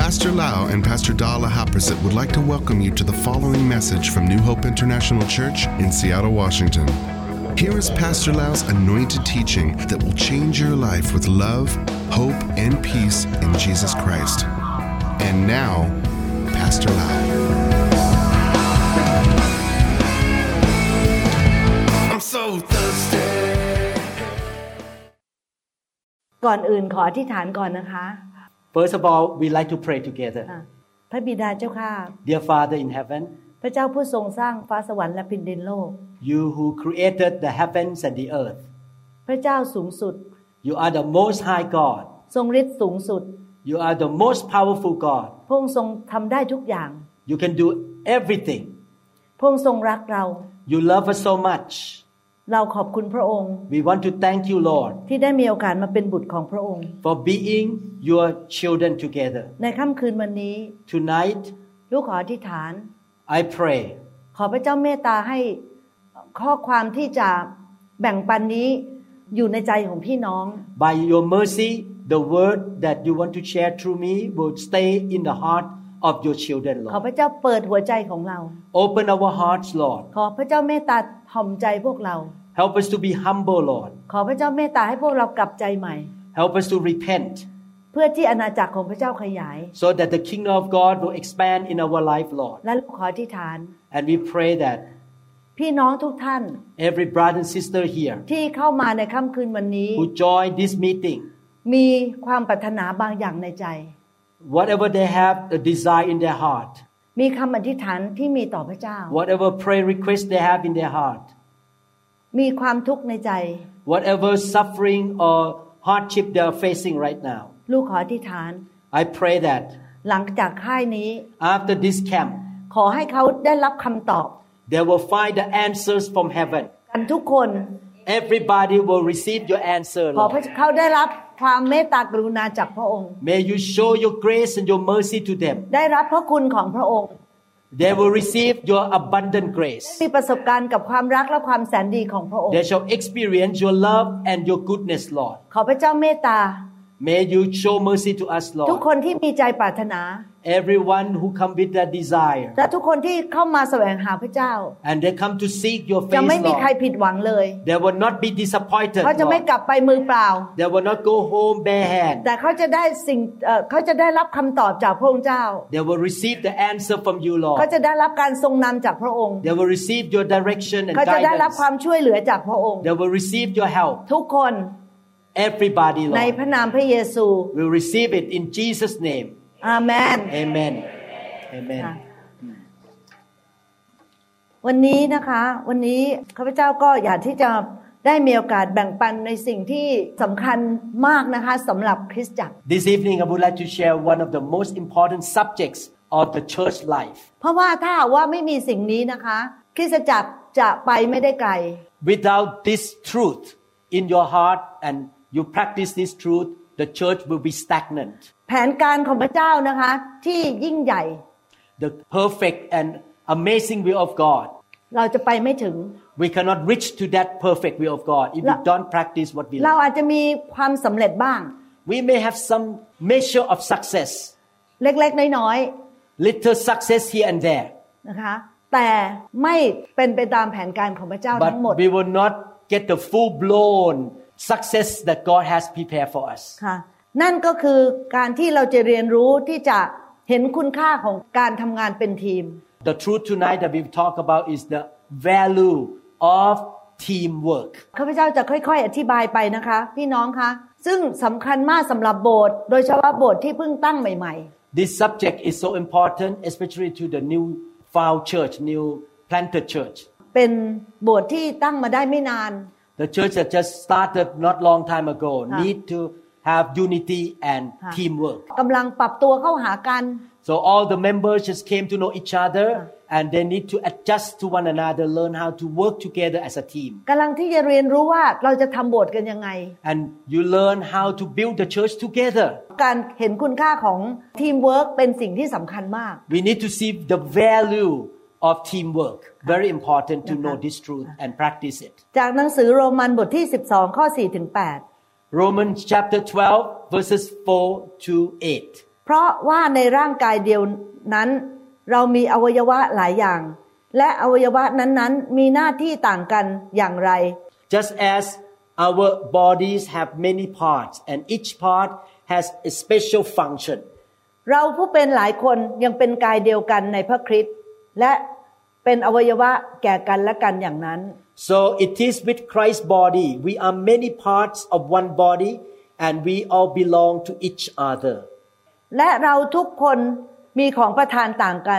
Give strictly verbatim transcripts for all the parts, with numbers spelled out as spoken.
Pastor Lau and Pastor Dala Haprasit would like to welcome you to the following message from New Hope International Church in Seattle, Washington. Here is Pastor Lau's anointed teaching that will change your life with love, hope, and peace in Jesus Christ. And now, Pastor Lau. I'm so thirsty. ก่อนอื่นขออธิษฐานก่อนนะคะ First of all, we like to pray together. พระบิดาเจ้าข้า Dear Father in heaven, พระเจ้าผู้ทรงสร้างฟ้าสวรรค์และแผ่นดินโลก You who created the heavens and the earth. พระเจ้าสูงสุด You are the most high God. ทรงฤทธิ์สูงสุด You are the most powerful God. พระองค์ทรงทำได้ทุกอย่าง You can do everything. พระองค์ทรงรักเรา You love us so much. เราขอบคุณพระองค์ We want to thank you, Lord, ที่ได้มีโอกาสมาเป็นบุตรของพระองค์ for being your children together. ในค่ำคืนวันนี้ Tonight, ลูกขออธิษฐาน I pray. ขอพระเจ้าเมตตาให้ข้อความที่จะแบ่งปันนี้อยู่ในใจของพี่น้อง By your mercy, the word that you want to share through me will stay in the heart of your children, ขอ Lord. พระเจ้าเปิดหัวใจของเรา Open our hearts, Lord. ขอพระเจ้าเมตตาถ่อมใจพวกเรา Help us to be humble, Lord. ขอพระเจ้าเมตตาให้พวกเรากลับใจใหม่ Help us to repent, เพื่อที่อาณาจักรของพระเจ้าขยาย so that the kingdom of God will expand in our life, Lord. และลูกขออธิษฐาน And we pray that พี่น้องทุกท่าน every brother and sister here ที่เข้ามาในค่ำคืนวันนี้ who join this meeting, มีความปรารถนาบางอย่างในใจ whatever they have a desire in their heart, มีคำอธิษฐานที่มีต่อพระเจ้า whatever prayer request they have in their heart, มีความทุกข์ในใจ whatever suffering or hardship they are facing right now, ลูกขออธิษฐาน I pray that หลังจากค่ายนี้ after this camp, ขอให้เขาได้รับคำตอบ they will find the answers from heaven. กันทุกคน Everybody will receive your answer, ขอ Lord. เขาได้รับความเมตตากรุณาจากพระองค์ May you show your grace and your mercy to them. ได้รับพระคุณของพระองค์ They will receive your abundant grace. มีประสบการณ์กับความรักและความแสนดีของพระองค์ They shall experience your love and your goodness, Lord. ขอพระเจ้าเมตตา May you show mercy to us, ทุก Lord. คนที่มีใจปรารถนา Everyone who come with that desire และทุกคนที่เข้ามาแสวงหาพระเจ้า and they come to seek your จะ face, ไม่มีใคร Lord. ผิดหวังเลย They will not be disappointed, เขาจะไม่ Lord. กลับไปมือเปล่า They will not go home bare hand. แต่เขาจะได้สิ่งเอ่อเขาจะได้รับคำตอบจากพระองค์เจ้า They will receive the answer from you, เขา Lord. จะได้รับการทรงนำจากพระองค์ They will receive your direction and เขาจะได้รับ guidance. ความช่วยเหลือจากพระองค์ They will receive your help. ทุกคน Everybody, ใน Lord, พระนามพระเยซู will receive it in Jesus' name. อาเมน Amen. Amen. วันนี้นะคะวันนี้ข้าพเจ้าก็อยากที่จะได้มีโอกาสแบ่งปันในสิ่งที่สำคัญมากนะคะสำหรับคริสตจักร This evening I would like to share one of the most important subjects of the church life. เพราะว่าถ้าว่าไม่มีสิ่งนี้นะคะคริสตจักรจะไปไม่ได้ไกล Without this truth in your heart and you practice this truth, the church will be stagnant. แผนการของพระเจ้านะคะที่ยิ่งใหญ่ The perfect and amazing will of God. เราจะไปไม่ถึง We cannot reach to that perfect will of God if we don't practice what we เรา learn. อาจจะมีความสำเร็จบ้าง We may have some measure of success, เล็กๆน้อย little success here and there, ๆนะคะแต่ไม่เป็นไปตามแผนการของพระเจ้า but ทั้งหมด we will not get the full-blown success that God has prepared for us. ค่ะนั่นก็คือการที่เราจะเรียนรู้ที่จะเห็นคุณค่าของการทำงานเป็นทีม The truth tonight that we talk about is the value of teamwork. ข้าพเจ้าจะค่อยๆอธิบายไปนะคะพี่น้องคะซึ่งสำคัญมากสำหรับโบสถ์โดยเฉพาะโบสถ์ที่เพิ่งตั้งใหม่ๆ This subject is so important, especially to the new found church, new planted church. เป็นโบสถ์ที่ตั้งมาได้ไม่นาน The church that just started not long time ago need to have unity and teamwork. กำลังปรับตัวเข้าหากัน So all the members just came to know each other and they need to adjust to one another, learn how to work together as a team. กำลังที่จะเรียนรู้ว่าเราจะทำโบสถ์กันยังไง And you learn how to build the church together. การเห็นคุณค่าของทีมเวิร์คเป็นสิ่งที่สำคัญมาก We need to see the value of teamwork. Very important to know this truth and practice it. จากหนังสือโรมันบทที่สิบสองข้อสี่ถึงแปด Romans chapter twelve verses four to eight. เพราะว่าในร่างกายเดียวนั้นเรามีอวัยวะหลายอย่างและอวัยวะนั้นๆมีหน้าที่ต่างกันอย่างไร Just as our bodies have many parts and each part has a special function เราผู้เป็นหลายคนยังเป็นกายเดียวกันในพระคริสต์และเป็นอวัยวะแก่กันและกันอย่างนั้น So it is with Christ's body we are many parts of one body and we all belong to each other และเราทุกคนมีของประทานต่างกัน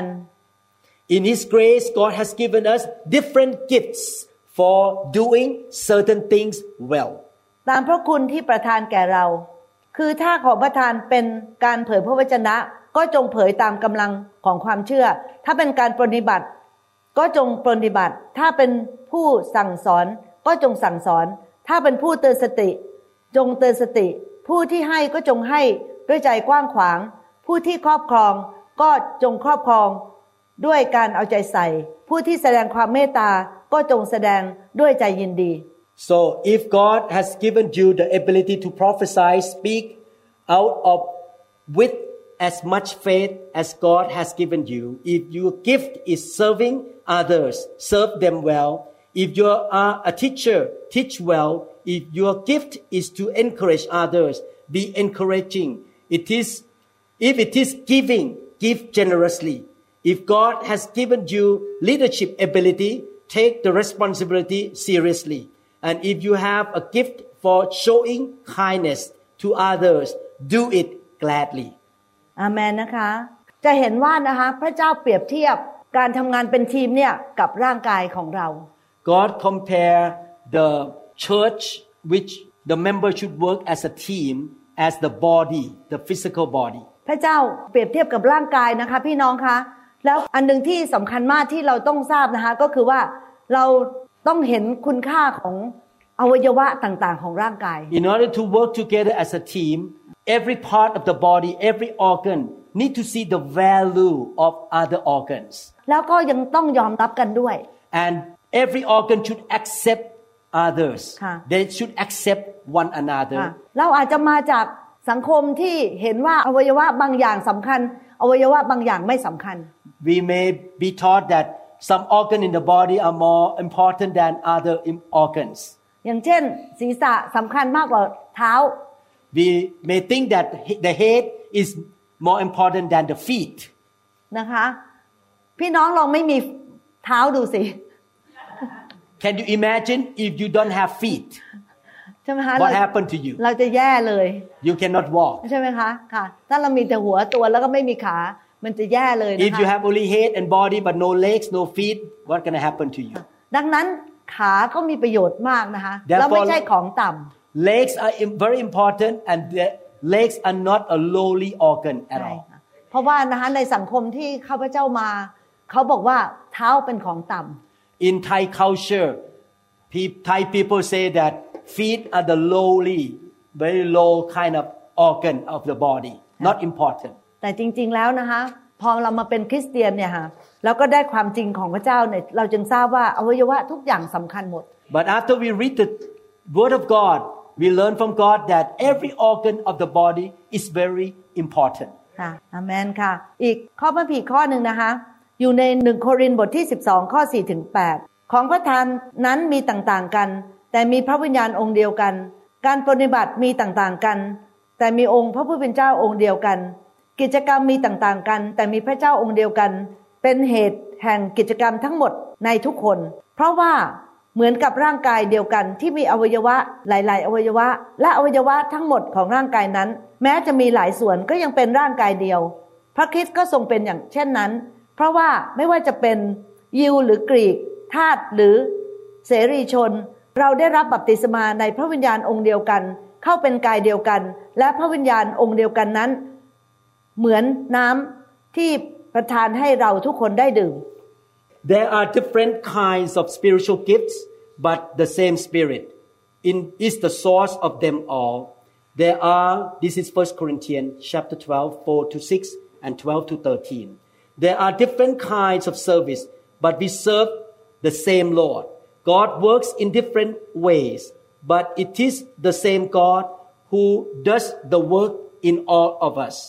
In His grace God has given us different gifts for doing certain things well ตามพระคุณที่ประทานแก่เราคือถ้าของประทานเป็นการเผยพระวจนะก็จงเผยตามกำลังของความเชื่อถ้าเป็นการปฏิบัติก็จงปฏิบัติถ้าเป็นผู้สั่งสอนก็จงสั่งสอนถ้าเป็นผู้เตือนสติจงเตือนสติผู้ที่ให้ก็จงให้ด้วยใจกว้างขวางผู้ที่ครอบครองก็จงครอบครองด้วยการเอาใจใส่ผู้ที่แสดงความเมตตาก็จงแสดงด้วยใจยินดี So if God has given you the ability to prophesy, speak out of with as much faith as God has given you, if your gift is serving others, serve them well. If you are a teacher, teach well. If your gift is to encourage others, be encouraging. It is, if it is giving, give generously. If God has given you leadership ability, take the responsibility seriously. And if you have a gift for showing kindness to others, do it gladly. อาเมนนะคะจะเห็นว่านะคะพระเจ้าเปรียบเทียบการทำงานเป็นทีมเนี่ยกับร่างกายของเรา God compare the church which the member should work as a team as the body, the physical body. พระเจ้าเปรียบเทียบกับร่างกายนะคะพี่น้องคะแล้วอันนึงที่สำคัญมากที่เราต้องทราบนะคะก็คือว่าเราต้องเห็นคุณค่าของอวัยวะต่างๆของร่างกาย In order to work together as a team, every part of the body, every organ need to see the value of other organs. แล้วก็ยังต้องยอมรับกันด้วย And every organ should accept others. They should accept one another. เราอาจจะมาจากสังคมที่เห็นว่าอวัยวะบางอย่างสำคัญอวัยวะบางอย่างไม่สำคัญ We may be taught that some organ in the body are more important than other organs. อย่างเช่นศีรษะสำคัญมากกว่าเท้า We may think that the head is more important than the feet. นะคะพี่น้องลองไม่มีเท้าดูสิ Can you imagine if you don't have feet? ใช่ไหมคะ What happened to you? เราจะแย่เลย You cannot walk. ใช่ไหมคะค่ะถ้าเรามีแต่หัวตัวแล้วก็ไม่มีขามันจะแย่เลยนะคะ If you have only head and body but no legs, no feet, what's going to happen to you? ดังนั้นขาก็มีประโยชน์มากนะคะแล้วไม่ใช่ของต่ำ Legs are very important and the legs are not a lowly organ at all. เพราะว่านะคะในสังคมที่ข้าพเจ้ามาเขาบอกว่าเท้าเป็นของต่ำ In Thai culture, Thai people say that feet are the lowly, very low kind of organ of the body, not important. แต่จริงๆแล้วนะคะพอเรามาเป็นคริสเตียนเนี่ยค่ะแล้วก็ได้ความจริงของพระเจ้าเนี่ยเราจึงทราบว่าอวัยวะทุกอย่างสำคัญหมด But after we read the Word of God, we learn from God that every organ of the body is very important. ค่ะอาเมนค่ะอีกข้อพระคัมภีร์ข้อนึงนะคะอยู่ในหนึ่งโครินธ์บทที่สิบสองข้อสี่ถึงแปดของประทานนั้นมีต่างๆกันแต่มีพระวิญญาณองค์เดียวกันการปฏิบัติมีต่างๆกันแต่มีองค์พระผู้เป็นเจ้าองค์เดียวกันกิจกรรมมีต่างๆกันแต่มีพระเจ้าองค์เดียวกันเป็นเหตุแห่งกิจกรรมทั้งหมดในทุกคนเพราะว่าเหมือนกับร่างกายเดียวกันที่มีอวัยวะหลายๆอวัยวะและอวัยวะทั้งหมดของร่างกายนั้นแม้จะมีหลายส่วนก็ยังเป็นร่างกายเดียวพระคริสต์ก็ทรงเป็นอย่างเช่นนั้นเพราะว่าไม่ว่าจะเป็นยิวหรือกรีกทาสหรือเสรีชนเราได้รับบัพติศมาในพระวิญญาณองค์เดียวกันเข้าเป็นกายเดียวกันและพระวิญญาณองค์เดียวกันนั้นเหมือนน้ำที่ประทานให้เราทุกคนได้ดื่ม There are different kinds of spiritual gifts, but the same Spirit in is the source of them all. There are, this is First Corinthians chapter twelve, four to six and twelve to thirteen. There are different kinds of service, but we serve the same Lord. God works in different ways, but it is the same God who does the work in all of us.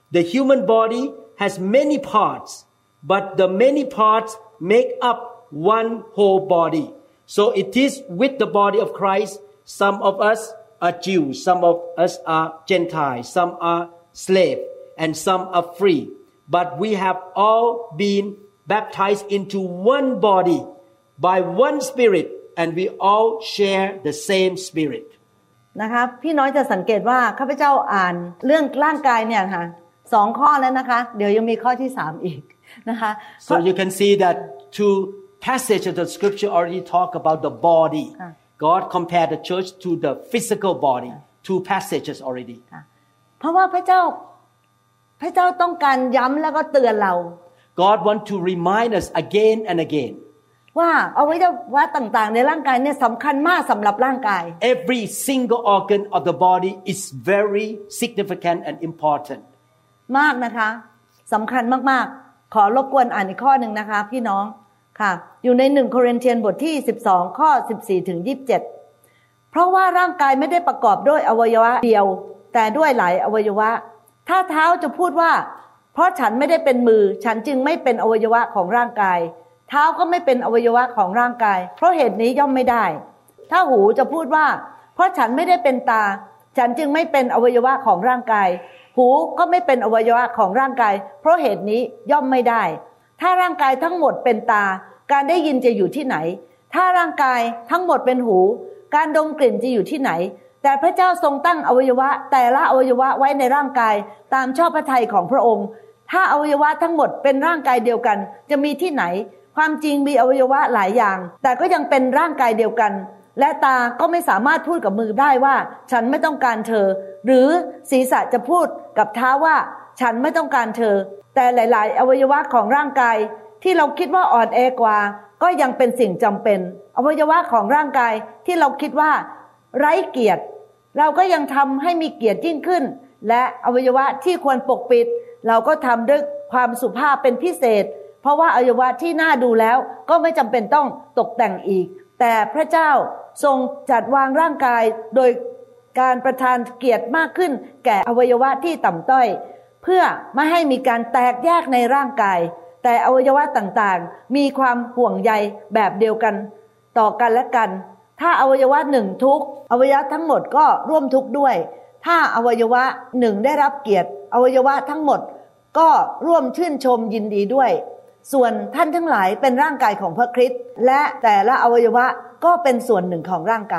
The human body has many parts, but the many parts make up one whole body. So it is with the body of Christ. Some of us are Jews, some of us are Gentiles, some are slaves, and some are free. But we have all been baptized into one body by one Spirit, and we all share the same Spirit. นะคะพี่น้อยจะสังเกตว่าข้าพเจ้าอ่านเรื่องร่างกายเนี่ยค่ะสองข้อแล้วนะคะเดี๋ยวยังมีข้อที่สามอีกนะคะ So you can see that two passages of the scripture already talk about the body. God compared the church to the physical body. Two passages already. เพราะว่าพระเจ้าพระเจ้าต้องการย้ำแล้วก็เตือนเรา God want to remind us again and again. ว่าอวัยวะต่างๆในร่างกายเนี่ยสำคัญมากสำหรับร่างกาย Every single organ of the body is very significant and important. มากนะคะสำคัญมากๆขอรบกวนอ่านอีกข้อหนึ่งนะคะพี่น้องค่ะอยู่ในหนึ่งโครินธ์บทที่สิบสองข้อสิบสี่ถึงยี่สิบเจ็ดเพราะว่าร่างกายไม่ได้ประกอบด้วยอวัยวะเดียวแต่ด้วยหลายอวัยวะถ้าเท้าจะพูดว่าเพราะฉันไม่ได้เป็นมือฉันจึงไม่เป็นอวัยวะของร่างกายเท้าก็ไม่เป็นอวัยวะของร่างกายเพราะเหตุนี้ย่อมไม่ได้ถ้าหูจะพูดว่าเพราะฉันไม่ได้เป็นตาฉันจึงไม่เป็นอวัยวะของร่างกายหูก็ไม่เป็นอวัยวะของร่างกายเพราะเหตุนี้ย่อมไม่ได้ถ้าร่างกายทั้งหมดเป็นตาการได้ยินจะอยู่ที่ไหนถ้าร่างกายทั้งหมดเป็นหูการดมกลิ่นจะอยู่ที่ไหนแต่พระเจ้าทรงตั้งอวัยวะแต่ละอวัยวะไว้ในร่างกายตามชอบพระทัยของพระองค์ถ้าอวัยวะทั้งหมดเป็นร่างกายเดียวกันจะมีที่ไหนความจริงมีอวัยวะหลายอย่างแต่ก็ยังเป็นร่างกายเดียวกันและตาก็ไม่สามารถพูดกับมือได้ว่าฉันไม่ต้องการเธอหรือศีรษะจะพูดกับเท้าว่าฉันไม่ต้องการเธอแต่หลายๆอวัยวะของร่างกายที่เราคิดว่าอ่อนแอกว่าก็ยังเป็นสิ่งจำเป็นอวัยวะของร่างกายที่เราคิดว่าไร้เกียรติเราก็ยังทำให้มีเกียรติยิ่งขึ้นและอวัยวะที่ควรปกปิดเราก็ทำด้วยความสุภาพเป็นพิเศษเพราะว่าอวัยวะที่น่าดูแล้วก็ไม่จำเป็นต้องตกแต่งอีกแต่พระเจ้าทรงจัดวางร่างกายโดยการประทานเกียรติมากขึ้นแก่อวัยวะที่ต่ำต้อยเพื่อไม่ให้มีการแตกแยกในร่างกายแต่อวัยวะต่างๆมีความห่วงใยแบบเดียวกันต่อกันและกันถ้าอวัยวะหนึ่งทุกข์อวัยวะทั้งหมดก็ร่วมทุกข์ด้วยถ้าอวัยวะหนึ่งได้รับเกียรติอวัยวะทั้งหมดก็ร่วมชื่นชมยินดีด้วยส่วนท่านทั้งหลายเป็นร่างกายของพระคริสต์และแต่ละอวัยวะก็เป็นส่วนหนึ่งของร่างกาย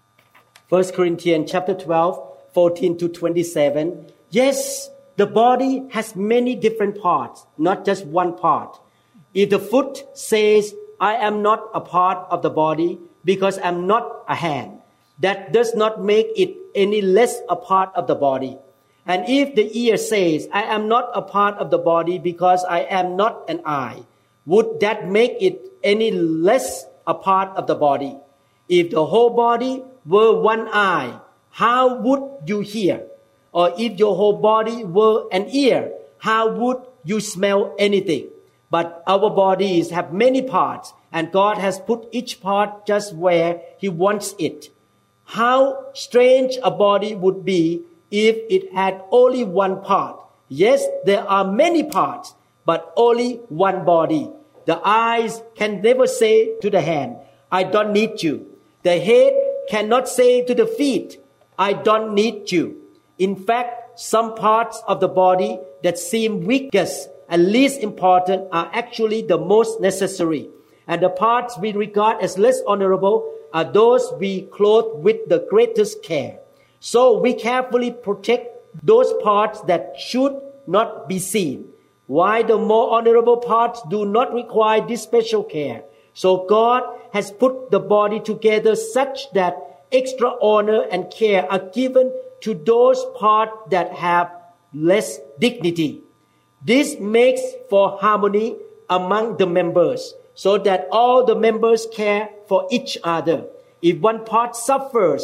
First Corinthians chapter twelve, fourteen to twenty-seven. Yes, the body has many different parts, not just one part. If the foot says, I am not a part of the body because I'm not a hand, that does not make it any less a part of the body. And if the ear says, I am not a part of the body because I am not an eye, would that make it any less a part of the body? If the whole body were one eye, how would you hear? Or if your whole body were an ear, how would you smell anything? But our bodies have many parts, and God has put each part just where He wants it. How strange a body would be if it had only one part. Yes, there are many parts, but only one body. The eyes can never say to the hand, I don't need you. The head cannot say to the feet, I don't need you. In fact, some parts of the body that seem weakest and least important are actually the most necessary. And the parts we regard as less honorable are those we clothe with the greatest care. So we carefully protect those parts that should not be seen, while the more honorable parts do not require this special care. So God has put the body together such that extra honor and care are given to those parts that have less dignity. This makes for harmony among the members, so that all the members care for each other. If one part suffers,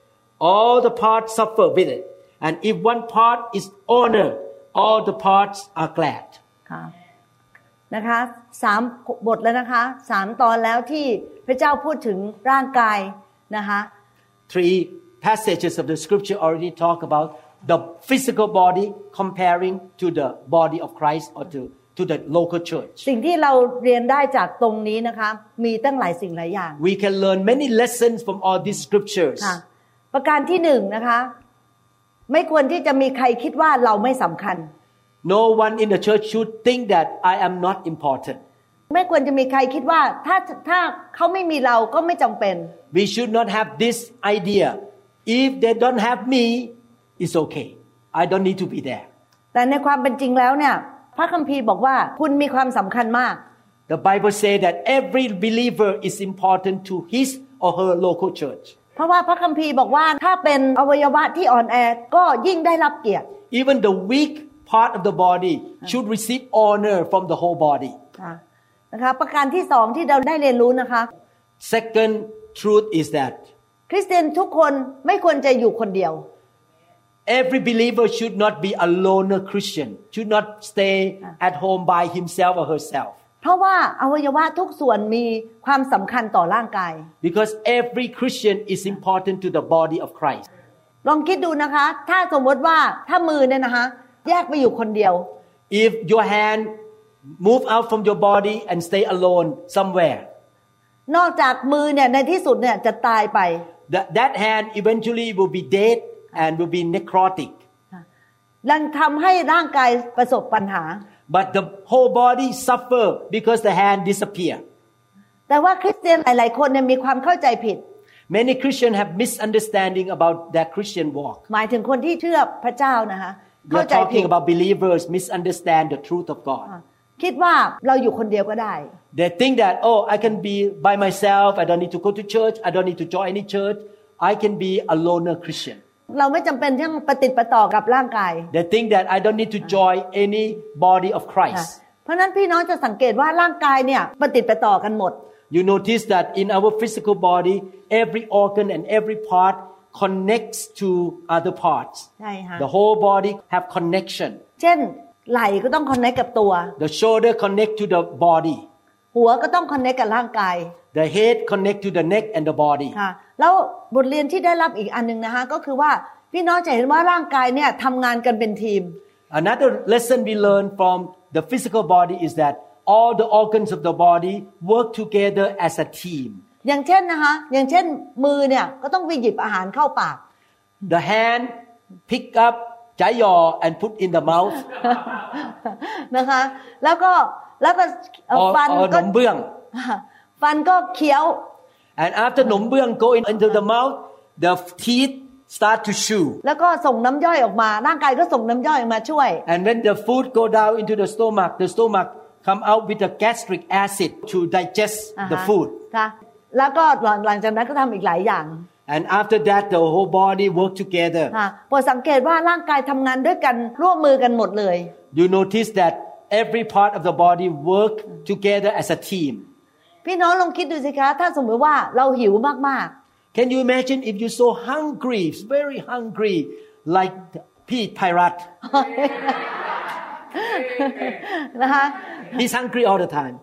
all the parts suffer with it. And if one part is honored, all the parts are glad. ค่ะนะคะสามบทแล้วนะคะสามตอนแล้วที่พระเจ้าพูดถึงร่างกายนะคะ Three passages of the scripture already talk about the physical body comparing to the body of Christ or to to the local church สิ่งที่เราเรียนได้จากตรงนี้นะคะมีตั้งหลายสิ่งหลายอย่าง we can learn many lessons from all these scriptures ค่ะประการที่หนึ่งนะคะไม่ควรที่จะมีใครคิดว่าเราไม่สำคัญ no one in the church should think that I am not important ไม่ควรจะมีใครคิดว่าถ้าถ้าเขาไม่มีเราก็ไม่จำเป็น we should not have this idea if they don't have me it's okay I don't need to be there แต่ในความเป็นจริงแล้วเนี่ยพระคัมภีร์บอกว่าคุณมีความสำคัญมาก The Bible say that every believer is important to his or her local church เพราะว่าพระคัมภีร์บอกว่าถ้าเป็นอวัยวะที่อ่อนแอก็ยิ่งได้รับเกียรติ Even the weak part of the body should receive honor from the whole body นะคะประการที่สองที่เราได้เรียนรู้นะคะ Second truth is that คริสเตียนทุกคนไม่ควรจะอยู่คนเดียว Every believer should not be a loner Christian should not stay at home by himself or herself เพราะว่าอวัยวะทุกส่วนมีความสำคัญต่อร่างกาย Because every Christian is important to the body of Christ ลองคิดดูนะคะถ้าสมมติว่าถ้ามือเนี่ยนะคะแยกไปอยู่คนเดียว If your hand move out from your body and stay alone somewhere นอกจากมือเนี่ยในที่สุดเนี่ยจะตายไป that, that hand eventually will be dead and will be necrotic นั่นทำให้ร่างกายประสบปัญหา But the whole body suffer because the hand disappear แต่ว่าคริสเตียนหลายๆคนเนี่ยมีความเข้าใจผิด Many Christians have misunderstanding about their Christian walk หมายถึงคนที่เชื่อพระเจ้านะคะ We are talking about believers misunderstand the truth of God คิดว่าเราอยู่คนเดียวก็ได้ They think that oh I can be by myself I don't need to go to church I don't need to join any church I can be a loner Christian เราไม่จำเป็นต้องปฏิปต่อกับร่างกาย They think that I don't need to join any body of Christ เพราะนั้นพี่น้องจะสังเกตว่าร่างกายเนี่ยปฏิปต่อกันหมด You notice that in our physical body every organ and every part connects to other parts ใช่ค่ะ The whole body have connection เช่นไหล่ก็ต้องคอนเนคกับตัว The shoulder connect to the body หัวก็ต้องคอนเนคกับร่างกาย The head connect to the neck and the body ค่ะแล้วบทเรียนที่ได้รับอีกอันนึงนะคะก็คือว่าพี่น้องจะเห็นว่าร่างกายเนี่ยทำงานกันเป็นทีม Another lesson we learn from the physical body is that all the organs of the body work together as a team อย่างเช่นนะคะอย่างเช่นมือเนี่ยก็ต้องไปหยิบอาหารเข้าปาก The hand pick up จ่ายยอ and put in the mouth นะคะแล้วก็แล้วก็ฟันก็หนมเบื้องฟันก็เคี้ยว And after หนมเบื้อง go into the mouth the teeth start to chew แล้วก็ส่งน้ำย่อยออกมาร่างกายก็ส่งน้ำย่อยออกมาช่วย And when the food go down into the stomach the stomach come out with the gastric acid to digest the food ค่ะแล้วก็หลังจากนั้นก็ทำอีกหลายอย่าง And after that the whole body work together ค่ะพอสังเกตว่าร่างกายทำงานด้วยกันร่วมมือกันหมดเลย You notice that every part of the body work together as a team พี่น้องลองคิดดูสิคะถ้าสมมติว่าเราหิวมากๆ Can you imagine if you're so hungry very hungry like Pete Pyrat นะคะ He's hungry all the time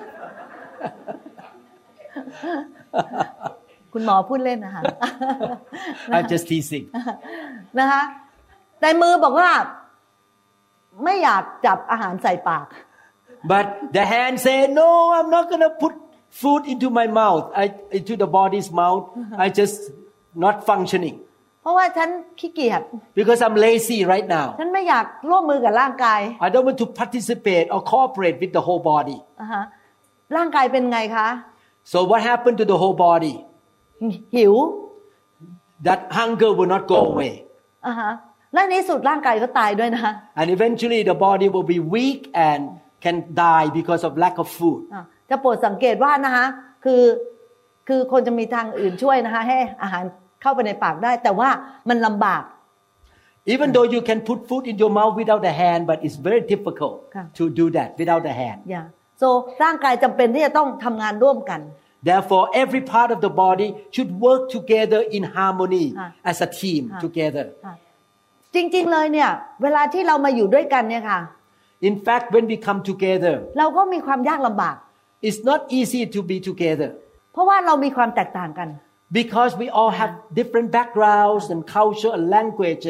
คุณหมอพูดเล่นนะคะ I'm just teasing นะคะแต่มือบอกว่าไม่อยากจับอาหารใส่ปาก But the hand say no I'm not gonna put food into my mouth I, into the body's mouth I just not functioning เพราะว่าฉันขี้เกียจ Because I'm lazy right now ฉันไม่อยากร่วมมือกับร่างกาย I don't want to participate or cooperate with the whole body อ่าฮะร่างกายเป็นไงคะ So what happened to the whole body หิว That hunger will not go away อ่าฮะและในที่สุดร่างกายก็ตายด้วยนะ And eventually the body will be weak and can die because of lack of food จะโปรดสังเกตว่านะคะคือคือคนจะมีทางอื่นช่วยนะคะให้อาหารเข้าไปในปากได้แต่ว่ามันลำบาก Even though you can put food in your mouth without the hand but it's very difficult to do that without the hand Yeah so ร่างกายจำเป็นที่จะต้องทำงานร่วมกัน Therefore every part of the body should work together in harmony as a team together จริงๆเลยเนี่ยเวลาที่เรามาอยู่ด้วยกันเนี่ยค่ะ In fact when we come together เราก็มีความยากลำบาก It's not easy to be together เพราะว่าเรามีความแตกต่างกัน Because we all have different backgrounds and culture and language and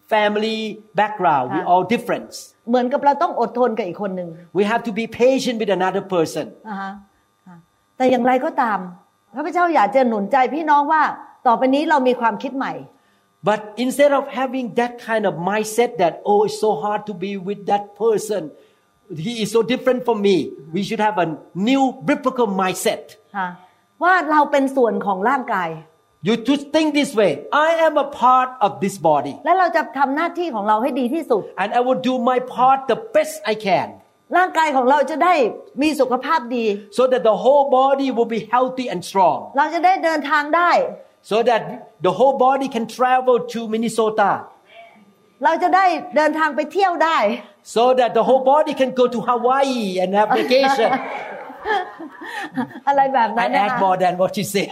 family background we all different เหมือนกับเราต้องอดทนกับอีกคนนึง we have to be patient with another person อ่าฮะแต่อย่างไรก็ตามข้าพเจ้าอยากจะหนุนใจพี่น้องว่าต่อไปนี้เรามีความคิดใหม่ but instead of having that kind of mindset that oh it's so hard to be with that person he is so different from me we should have a new biblical mindset ว่าเราเป็นส่วนของร่างกาย you to think this way I am a part of this body และเราจะทำหน้าที่ของเราให้ดีที่สุด and I will do my part the best I can ร่างกายของเราจะได้มีสุขภาพดี so that the whole body will be healthy and strong เราจะได้เดินทางได้ so that the whole body can travel to Minnesota เราจะได้เดินทางไปเที่ยวได้ so that the whole body can go to Hawaii and have vacation อะไรแบบนั้นนะคะ I add more than what you say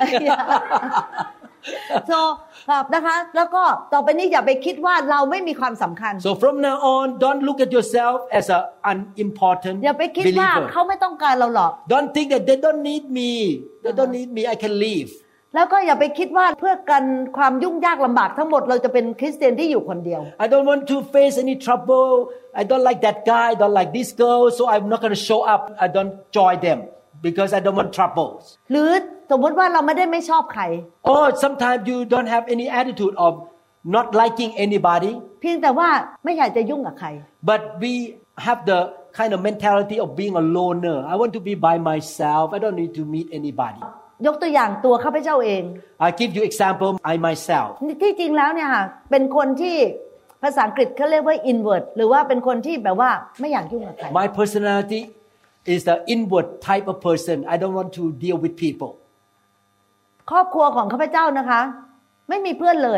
so ครับนะคะแล้วก็ต่อไปนี้อย่าไปคิดว่าเราไม่มีความสำคัญ so from now on don't look at yourself as a unimportant อย่าไปคิดว่าเขาไม่ต้องการเราหรอก don't think that they don't need me they don't need me I can leave แล้วก็อย่าไปคิดว่าเพื่อกันความยุ่งยากลำบากทั้งหมดเราจะเป็นคริสเตียนที่อยู่คนเดียว I don't want to face any trouble I don't like that guy I don't like this girl so I'm not going to show up I don't join them because I don't want troubles หรือสมมติว่าเราไม่ได้ไม่ชอบใคร or sometimes you don't have any attitude of not liking anybody เพียงแต่ว่าไม่อยากจะยุ่งกับใคร but we have the kind of mentality of being a loner I want to be by myself I don't need to meet anybody ยกตัวอย่างตัวข้าพเจ้าเอง I give you example I myself ที่จริงแล้วเนี่ยค่ะเป็นคนที่ภาษาอังกฤษเขาเรียกว่า invert หรือว่าเป็นคนที่แบบว่าไม่อยากยุ่งกับใคร My personality is the inward type of person I don't want to deal with people ครอบครัวของข้าพเจ้านะคะไม่มีเพื่อนเลย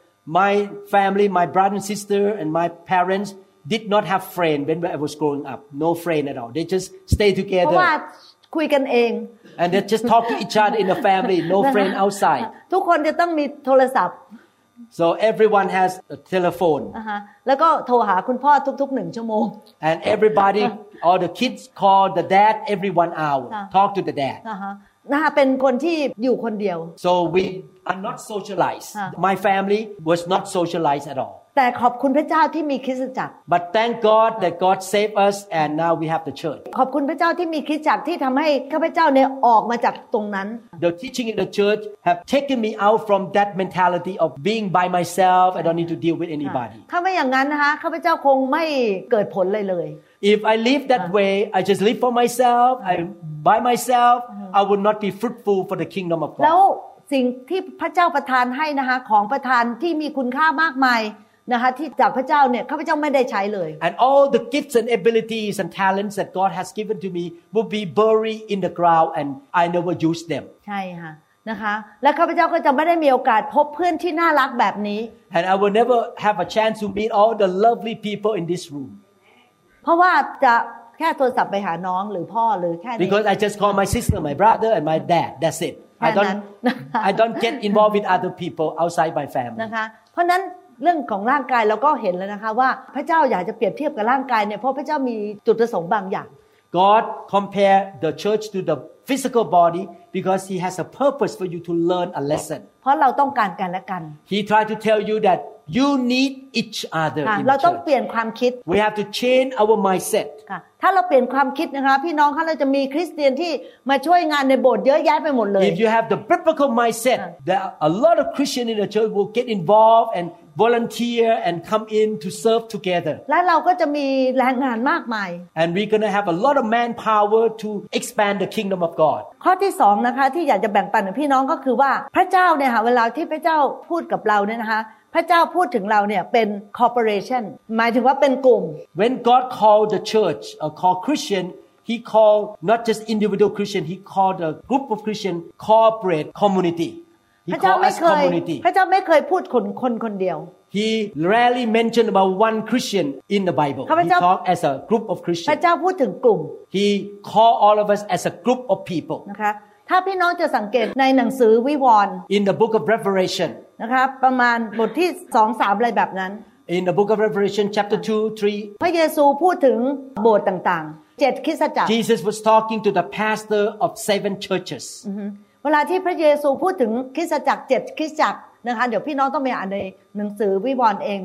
My family my brother and sister and my parents did not have friend when I was growing up no friend at all they just stay เพ together ราะว่าคุยกันเอง and they just talk to each other in the family no friend outside ทุกคนจะต้องมีโทรศัพท์ so everyone has a telephone แล้วก็โทรหาคุณพ่อทุกๆหนึ่งชั่วโมง and everybody all the kids call the dad every one hour talk to the dad นะคะเป็นคนที่อยู่คนเดียว so we are not socialized my family was not socialized at all แต่ขอบคุณพระเจ้าที่มีคริสตจักร but thank God that God saved us and now we have the church ขอบคุณพระเจ้าที่มีคริสตจักรที่ทำให้ข้าพเจ้าเนี่ยออกมาจากตรงนั้น the teaching in the church have taken me out from that mentality of being by myself I don't need to deal with anybody ถ้าไม่อย่างนั้นนะคะข้าพเจ้าคงไม่เกิดผลเลยเลย if I live that way I just live for myself I by myself I would not be fruitful for the kingdom of God แล้วสิ่งที่พระเจ้าประทานให้นะคะของประทานที่มีคุณค่ามากมายนะคะที่จากพระเจ้าเนี่ยข้าพเจ้าไม่ได้ใช้เลย and all the gifts and abilities and talents that God has given to me will be buried in the ground and I never use them ใช่ค่ะนะคะและข้าพเจ้าก็จะไม่ได้มีโอกาสพบเพื่อนที่น่ารักแบบนี้ and I will never have a chance to meet all the lovely people in this room เพราะว่าจะแค่โทรศัพท์ไปหาน้องหรือพ่อหรือแค่นี้ because I just call my sister my brother and my dad that's it I don't I don't get involved with other people outside my family นะคะเพราะนั้นเรื่องของร่างกายเราก็เห็นแล้วนะคะว่าพระเจ้าอยากจะเปรียบเทียบกับร่างกายเนี่ยเพราะพระเจ้ามีจุดประสงค์บางอย่าง God compare the church to the physical body because he has a purpose for you to learn a lesson เพราะเราต้องการกันและกัน He tried to tell you that you need each other in เรา the ต้องเป church ลี่ยนความคิด We have to change our mindset ถ้าเราเปลี่ยนความคิดนะคะพี่น้องคะเราจะมีคริสเตียนที่มาช่วยงานในโบสถ์เยอะแยะไปหมดเลย If you have the biblical mindset that a lot of Christians in the church will get involved and volunteer and come in to serve together และเราก็จะมีแรงงานมากมาย and we're going to have a lot of manpower to expand the kingdom of God ข้อที่สองนะคะที่อยากจะแบ่งปันกับพี่น้องก็คือว่าพระเจ้าเนี่ยค่ะเวลาที่พระเจ้าพูดกับเราเนี่ยนะคะพระเจ้าพูดถึงเราเนี่ยเป็น corporation หมายถึงว่าเป็นกลุ่ม When God called the church or called Christian He called not just individual Christian He called a group of Christian corporate community He called us community พระเจ้าไม่เคยพูดคนคนคนเดียว He rarely mentioned about one Christian in the Bible He talked as a group of Christians พระเจ้าพูดถึงกลุ่ม He called all of us as a group of people นะคะถ้าพี่น้องจะสังเกตในหนังสือวิวรณ์ In the book of Revelation นะคะประมาณบทที่ สอง สาม อะไรแบบนั้น In the book of Revelation chapter two three พระเยซูพูดถึงโบสถ์ต่างๆเจ็ดคริสตจักร Jesus was talking to the pastor of seven churches เวลาที่พระเยซูพูดถึงคริสตจักรเจ็ดคริสตจักรนะคะเดี๋ยวพี่น้องต้องไปอ่านในหนังสือวิวรณ์เองนะคะ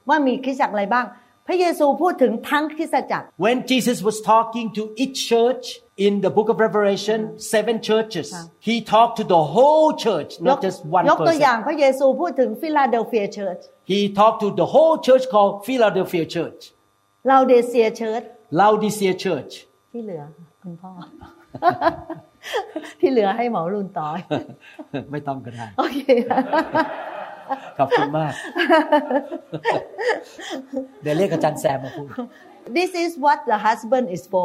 ว่ามีคริสตจักรอะไรบ้างพระเยซูพูดถึงทั้งคริสตจักร When Jesus was talking to each church in the book of Revelation seven churches he talked to the whole church not just one ยกตัวอย่าง person พระเยซูพูดถึงฟิลาเดลเฟียเชิร์ช he talked to the whole church called Philadelphia Church ลาวเดเซียเชิร์ช Laodicea Church ที่เหลือคุณพ่อ ที่เหลือให้หมอรุ่นต่อไม่ต้องก็ได้โอเคขอบคุณมาก เดี๋ยวเรียกอาจารย์แซมมาพูด This is what the husband is for.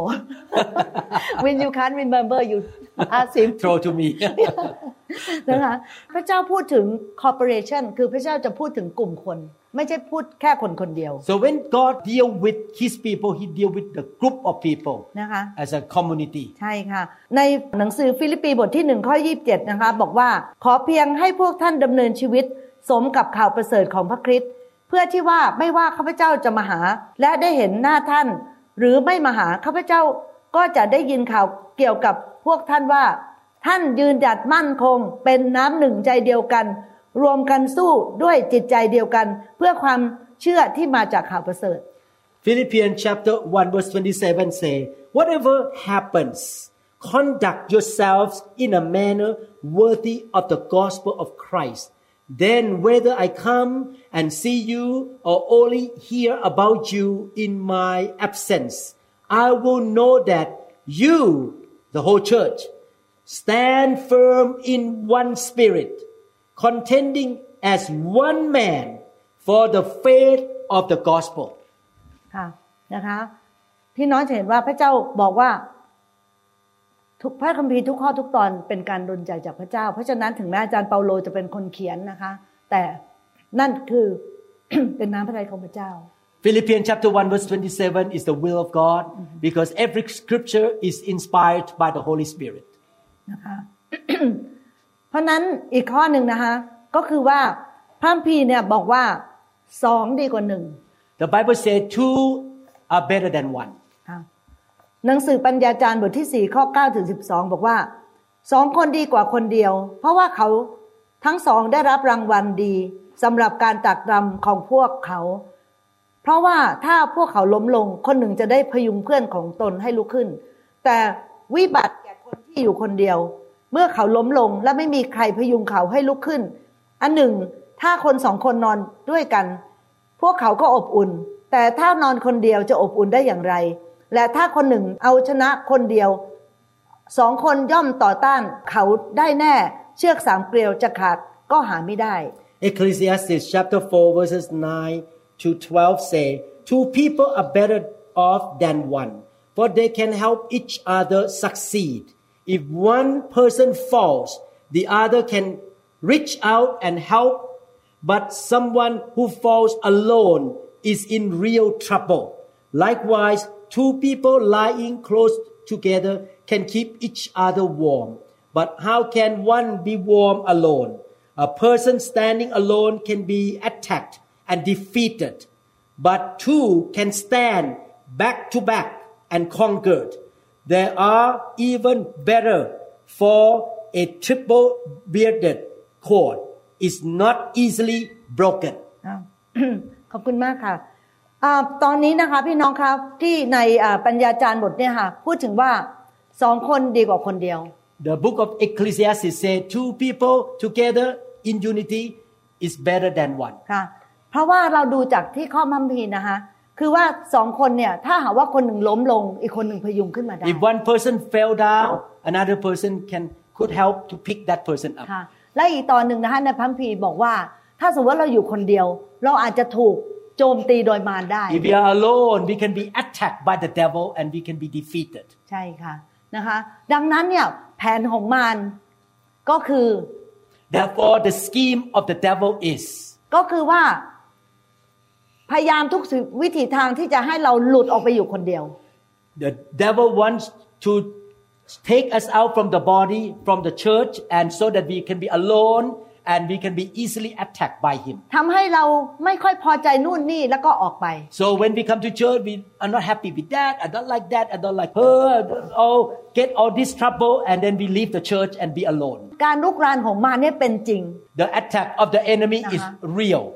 When you can't remember, you ask him. Throw to me. นะคะพระเจ้าพูดถึง corporation คือพระเจ้าจะพูดถึงกลุ่มคนไม่ใช่พูดแค่คนคนเดียว So when God deal with His people, He deal with the group of people นะคะ as a community. ใช่ค่ะในหนังสือฟิลิปปีบทที่หนึ่งข้อยี่สิบเจ็ดนะคะบอกว่าขอเพียงให้พวกท่านดำเนินชีวิตสมกับข่าวประเสริฐของพระคริสต์เพื่อที่ว่าไม่ว่าข้าพเจ้าจะมาหาและได้เห็นหน้าท่านหรือไม่มาหาข้าพเจ้าก็จะได้ยินข่าวเกี่ยวกับพวกท่านว่าท่านยืนหยัดมั่นคงเป็นน้ำหนึ่งใจเดียวกันรวมกันสู้ด้วยจิตใจเดียวกันเพื่อความเชื่อที่มาจากข่าวประเสริฐ Philippians chapter one verse twenty-seven say, whatever happens, conduct yourselves in a manner worthy of the gospel of Christ.Then whether I come and see you or only hear about you in my absence, I will know that you, the whole church, stand firm in one spirit, contending as one man for the faith of the gospel. ค่ะนะคะพี่น้องจะเห็นว่าพระเจ้าบอกว่าทุกพระคัมภีร์ทุกข้อทุกตอนเป็นการดลใจจากพระเจ้าเพราะฉะนั้นถึงแม้อาจารย์เปาโลจะเป็นคนเขียนนะคะแต่นั่นคือ เป็นน้ำพระทัยของพระเจ้า Philippians chapter one verse twenty-seven is the will of God because every scripture is inspired by the Holy Spirit นะคะ เพราะนั้นอีกข้อหนึ่งนะคะก็คือว่าพระคัมภีร์เนี่ยบอกว่าสองดีกว่าหนึ่ง The Bible says two are better than one หนังสือปัญญาจารย์บทที่สี่ข้อเก้าถึงสิบสองบอกว่าสองคนดีกว่าคนเดียวเพราะว่าเขาทั้งสองได้รับรางวัลดีสำหรับการตรากตรำของพวกเขาเพราะว่าถ้าพวกเขาล้มลงคนหนึ่งจะได้พยุงเพื่อนของตนให้ลุกขึ้นแต่วิบัติแก่คนที่อยู่คนเดียวเมื่อเขาล้มลงและไม่มีใครพยุงเขาให้ลุกขึ้นอันหนึ่งถ้าคนสองคนนอนด้วยกันพวกเขาก็อบอุ่นแต่ถ้านอนคนเดียวจะอบอุ่นได้อย่างไรและถ้าคนหนึ่งเอาชนะคนเดียวสองคนย่อมต่อต้านเขาได้แน่เชือกสามเกลียวจะขาดก็หาไม่ได้ Ecclesiastes chapter four verses nine to twelve say two people are better off than one for they can help each other succeed if one person falls the other can reach out and help but someone who falls alone is in real trouble likewise two people lying close together can keep each other warm but how can one be warm alone a person standing alone can be attacked and defeated but two can stand back to back and conquered there are even better for a triple bearded cord is not easily broken ขอบคุณมากค่ะตอนนี้นะคะพี่น้องครับที่ในปัญญาจารย์บทเนี่ยค่ะพูดถึงว่าสองคนดีกว่าคนเดียว The book of Ecclesiastes say two people together in unity is better than one ค่ะเพราะว่าเราดูจากที่ข้อคัมภีร์นะคะคือว่าสองคนเนี่ยถ้าหากว่าคนหนึ่งล้มลงอีกคนหนึ่งพยุงขึ้นมาได้ If one person fell down another person can could help to pick that person up ค่ะและอีกตอนหนึ่งนะคะในพระคัมภีร์บอกว่าถ้าสมมติว่าเราอยู่คนเดียวเราอาจจะถูกโจมตีโดยมารได้ If we are alone we can be attacked by the devil and we can be defeated ใช่ค่ะนะคะดังนั้นเนี่ยแผนของมารก็คือ Therefore the scheme of the devil is ก็คือว่าพยายามทุกวิถีทางที่จะให้เราหลุดออกไปอยู่คนเดียว The devil wants to take us out from the body from the church and so that we can be alone and we can be easily attacked by him ทำให้เราไม่ค่อยพอใจนู่นนี่แล้วก็ออกไป So when we come to church we are not happy with that I don't like that I don't like her oh get all this trouble and then we leave the church and be alone การลุกรานของมารเนี่ยเป็นจริง The attack of the enemy is real ค่ะ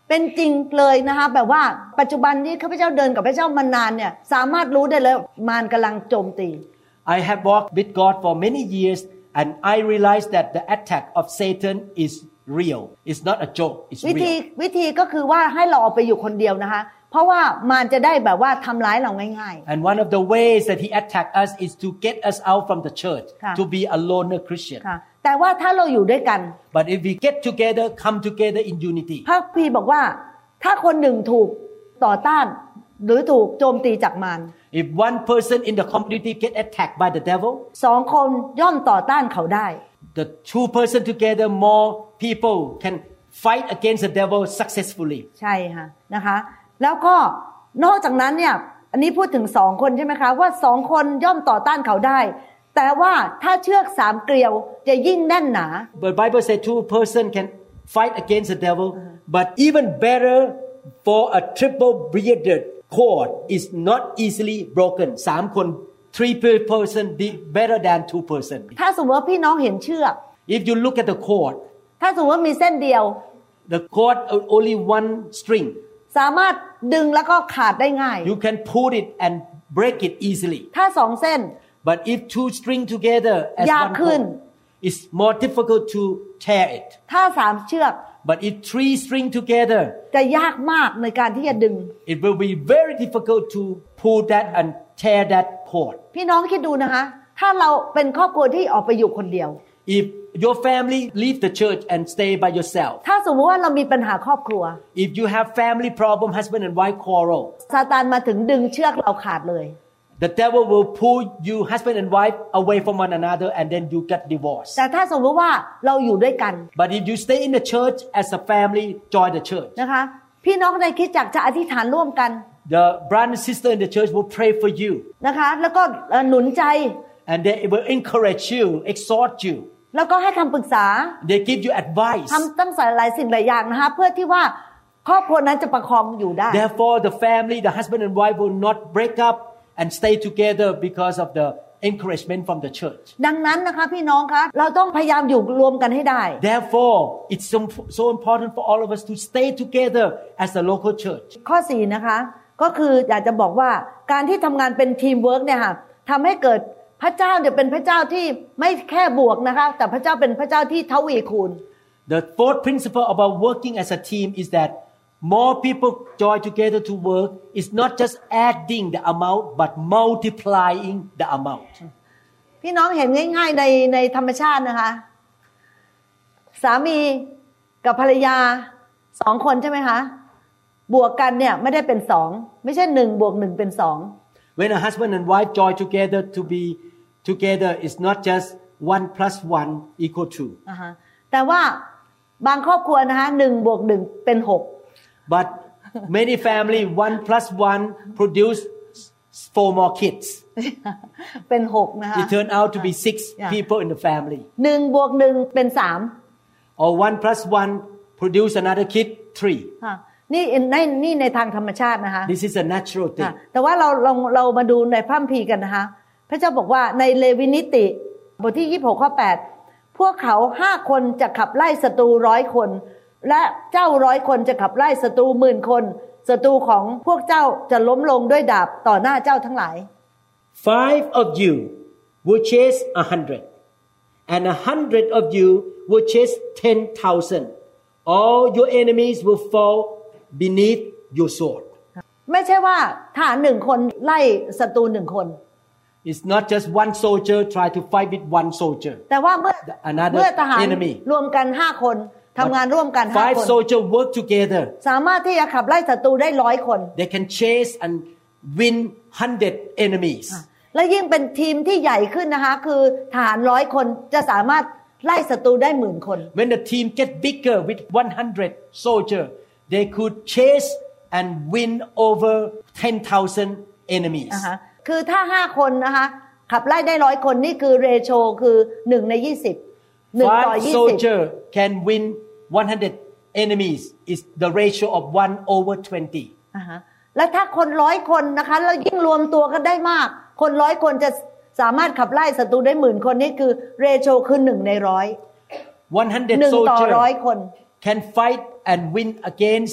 เป็นจริงเลยนะคะแบบว่าปัจจุบันนี้ข้าพเจ้าเดินกับพระเจ้ามานานเนี่ยสามารถรู้ได้เลยมารกำลังโจมตี I have walked with God for many years and I realized that the attack of Satan is real. It's not a joke. It's real. วิธีวิธีก็คือว่าให้เราออกไปอยู่คนเดียวนะคะเพราะว่ามารจะได้แบบว่าทำร้ายเราง่ายๆ And one of the ways that he attacked us is to get us out from the church, ค่ะ to be a loner Christian. ค่ะแต่ว่าถ้าเราอยู่ด้วยกัน But if we get together, come together in unity. พระพีบอกว่าถ้าคนหนึ่งถูกต่อต้านหรือถูกโจมตีจากมาร If one person in the community get attacked by the devil, สองคนย่อมต่อต้านเขาได้ the two person together, more people can fight against the devil successfully. ใช่ค่ะนะคะแล้วก็นอกจากนั้นเนี่ยอันนี้พูดถึงสองคนใช่ไหมคะว่าสองคนย่อมต่อต้านเขาได้แต่ว่าถ้าเชือกสามเกลียวจะยิ่งแน่นหนา But Bible says two person can fight against the devil, but even better for a triple braided cord is not easily broken. สามคน three person better than two person. ถ้าสมมติว่าพี่น้องเห็นเชือก If you look at the cord, ถ้าสมมติว่ามีเส้นเดียว the cord only one string. สามารถดึงแล้วก็ขาดได้ง่าย You can pull it and break it easily. ถ้าสองเส้น But if two string together as ยาก one ขึ้น cord, it's more difficult to tear it. ถ้าสามเชือก But if three string together, จะยากมากในการที่จะดึง it will be very difficult to pull that and tear that cord. พี่น้องคิดดูนะคะถ้าเราเป็นครอบครัวที่ออกไปอยู่คนเดียว If your family leave the church and stay by yourself, ถ้าสมมติว่าเรามีปัญหาครอบครัว if you have family problem, husband and wife quarrel, ซาตานมาถึงดึงเชือกเราขาดเลย the devil will pull you husband and wife away from one another and then you get divorced. แต่ถ้าสมมติว่าเราอยู่ด้วยกัน But if you stay in the church as a family, join the church. นะคะพี่น้องในคริสตจักรจะอธิษฐานร่วมกัน The brother and sister in the church will pray for you. นะคะแล้วก็หนุนใจ And they will encourage you, exhort you. แล้วก็ให้คำปรึกษา They give you advice. ทำตั้งหลายสิ่งหลายอย่างนะคะเพื่อที่ว่าครอบครัวนั้นจะประคองอยู่ได้ Therefore, the family, the husband and wife will not break up and stay together because of the encouragement from the church. ดังนั้นนะคะพี่น้องคะเราต้องพยายามอยู่รวมกันให้ได้ Therefore, it's so, so important for all of us to stay together as a local church. ข้อสี่นะคะก็คืออยากจะบอกว่าการที่ทำงานเป็นทีมเวิร์กเนี่ยค่ะทำให้เกิดพระเจ้าเนี่ยเป็นพระเจ้าที่ไม่แค่บวกนะคะแต่พระเจ้าเป็นพระเจ้าที่ทวีคูณ The fourth principle about working as a team is that more people join together to work is not just adding the amount but multiplying the amount. พี่น้องเห็นง่ายๆในในธรรมชาตินะคะสามีกับภรรยาสองคนใช่ไหมคะบวกกันเนี่ยไม่ได้เป็นสองไม่ใช่หนึ่งบวกหนึ่งเป็นสอง When a husband and wife join together to be together, it's not just one plus one equal two. อ่าฮะแต่ว่าบางครอบครัวนะคะหนึ่งบวกหนึ่งเป็นหก But many family one plus one produce four more kids. เป็นหกนะคะ It turned out to be six Yeah. people in the family. หนึ่งบวกหนึ่งเป็นสาม Or one plus one produce another kid three. ค่ะนี่ในนี่ในทางธรรมชาตินะคะ This is a natural ค่ะ thing. แต่ว่าเราเราเรามาดูในพระคัมภีร์กันนะคะพระเจ้าบอกว่าในเลวีนิติบทที่ยี่สิบหกข้อแปดพวกเขาห้าคนจะขับไล่ศัตรูร้อยคนและเจ้าร้อยคนจะขับไล่ศัตรูหมื่นคนศัตรูของพวกเจ้าจะล้มลงด้วยดาบต่อหน้าเจ้าทั้งหลาย Five of you will chase a hundred, and a hundred of you will chase ten thousand. All your enemies will fall beneath your sword. ไม่ใช่ว่าทหารหนึ่งคนไล่ศัตรูหนึ่งคน It's not just one soldier try to fight with one soldier. แต่ว่าเมื่อ Another เมื่อทหาร enemy. รวมกันห้าคนทำงานร่วมกันห้า Five คน soldiers work together. สามารถที่จะขับไล่ศัตรูได้ร้อยคน They can chase and win hundred enemies. และยิ่งเป็นทีมที่ใหญ่ขึ้นนะคะคือทหารร้อยคนจะสามารถไล่ศัตรูได้หมื่นคน When the team get bigger with one hundred soldiers, they could chase and win over ten thousand enemies. นะคะคือถ้าห้าคนนะคะขับไล่ได้ร้อยคนนี่คือเรโชคือหนึ่งในยี่สิบหนึ่งต่อ Five ยี่สิบ soldiers can win one hundred enemies. Is the ratio of one over twenty. นะคะและถ้าคนร้อยคนนะคะแล้วยิ่งรวมตัวกันได้มากคนร้อยคนจะสามารถขับไล่ศัตรูได้หมื่นคนนี่คือเรโชคือหนึ่งในร้อย one hundred หนึ่งต่อร้อย soldiers คน can fight and win against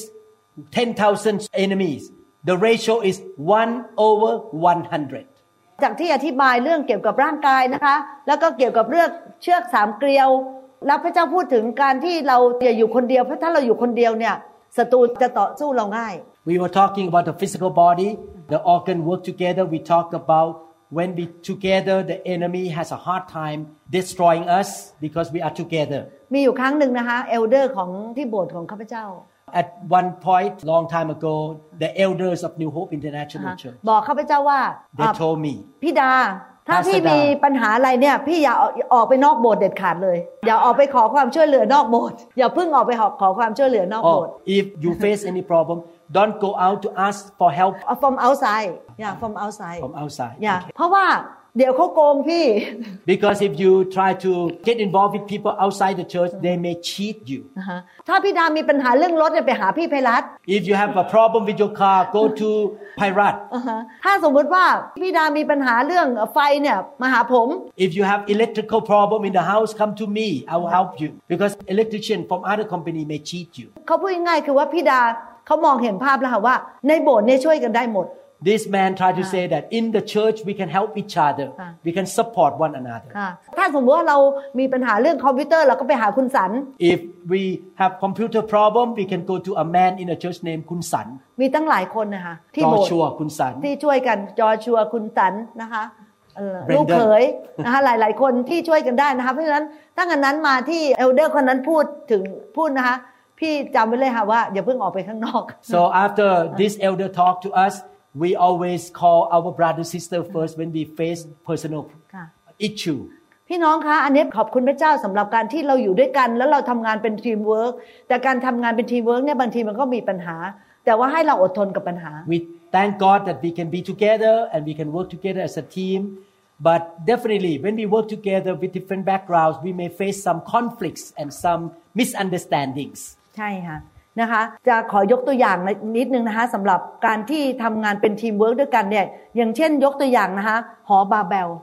ten thousand enemies, the ratio is one over one hundred. จากที่อธิบายเรื่องเกี่ยวกับร่างกายนะคะแล้วก็เกี่ยวกับเรื่องเชือกสามเกลียวแล้วพระเจ้าพูดถึงการที่เราอย่าอยู่คนเดียวเพราะถ้าเราอยู่คนเดียวเนี่ยศัตรูจะต่อสู้เราง่าย We were talking about the physical body, the organ work together. We talked about when we together, the enemy has a hard time destroying us because we are together. มีอยู่ครั้งหนึ่งนะคะเอลเดอร์ของที่โบสถ์ของข้าพเจ้า At one point, long time ago, the elders of New Hope International Church บอกข้าพเจ้าว่า they told me พี่ดาถ้าพี่มีปัญหาอะไรเนี่ยพี่อย่าออกไปนอกโบสถ์เด็ดขาดเลยอย่าออกไปขอความช่วยเหลือนอกโบสถ์อย่าเพิ่งออกไปขอความช่วยเหลือนอกโบสถ์ oh, if you face any problem, don't go out to ask for help from outside yeah from outside from outside yeah okay. เพราะว่าเดี๋ยวเขาโกงพี่ because if you try to get involved with people outside the church they may cheat you ถ้าพี่ดามีปัญหาเรื่องรถไปหาพี่ไพรัต if you have a problem with your car go to Pairat ถ้าสมมติว่าพี่ดามีปัญหาเรื่องไฟเนี่ยมาหาผม if you have electrical problem in the house come to me I will help you because electrician from other company may cheat you เขาพูดง่ายๆคือว่าพี่ดาเขามองเห็นภาพแล้วค่ะว่าในโบสถ์เนี่ยช่วยกันได้หมด This man tried to say that in the church we can help each other. We can support one another. ถ้าสมมติว่าเรามีปัญหาเรื่องคอมพิวเตอร์เราก็ไปหาคุณสัน If we have computer problem, we can go to a man in a church named คุณสันมีตั้งหลายคนนะคะที่โบสถ์ Joshua คุณสันที่ช่วยกันจอชัวคุณสันนะคะลูกเขยนะคะหลายๆคนที่ช่วยกันได้นะคะเพราะฉะนั้นตั้งแต่นั้นมาที่เอลเดอร์คนนั้นพูดถึงพูดนะคะพี่จำไว้เลยค่ะว่าอย่าเพิ่งออกไปข้างนอก So after this elder talked to us,We always call our brother sister first when we face personal issue. พี่น้องคะอันนี้ขอบคุณพระเจ้าสำหรับการที่เราอยู่ด้วยกันแล้วเราทำงานเป็นทีมเวิร์กแต่การทำงานเป็นทีมเวิร์กเนี่ยบางทีมันก็มีปัญหาแต่ว่าให้เราอดทนกับปัญหา We thank God that we can be together and we can work together as a team. But definitely when we work together with different backgrounds, we may face some conflicts and some misunderstandings. ใช่ค่ะนะคะจะขอยกตัวอย่างนิดนึงนะคะสำหรับการที่ทำงานเป็นทีมเวิร์กด้วยกันเนี่ยอย่างเช่นยกตัวอย่างนะคะหอบาเบล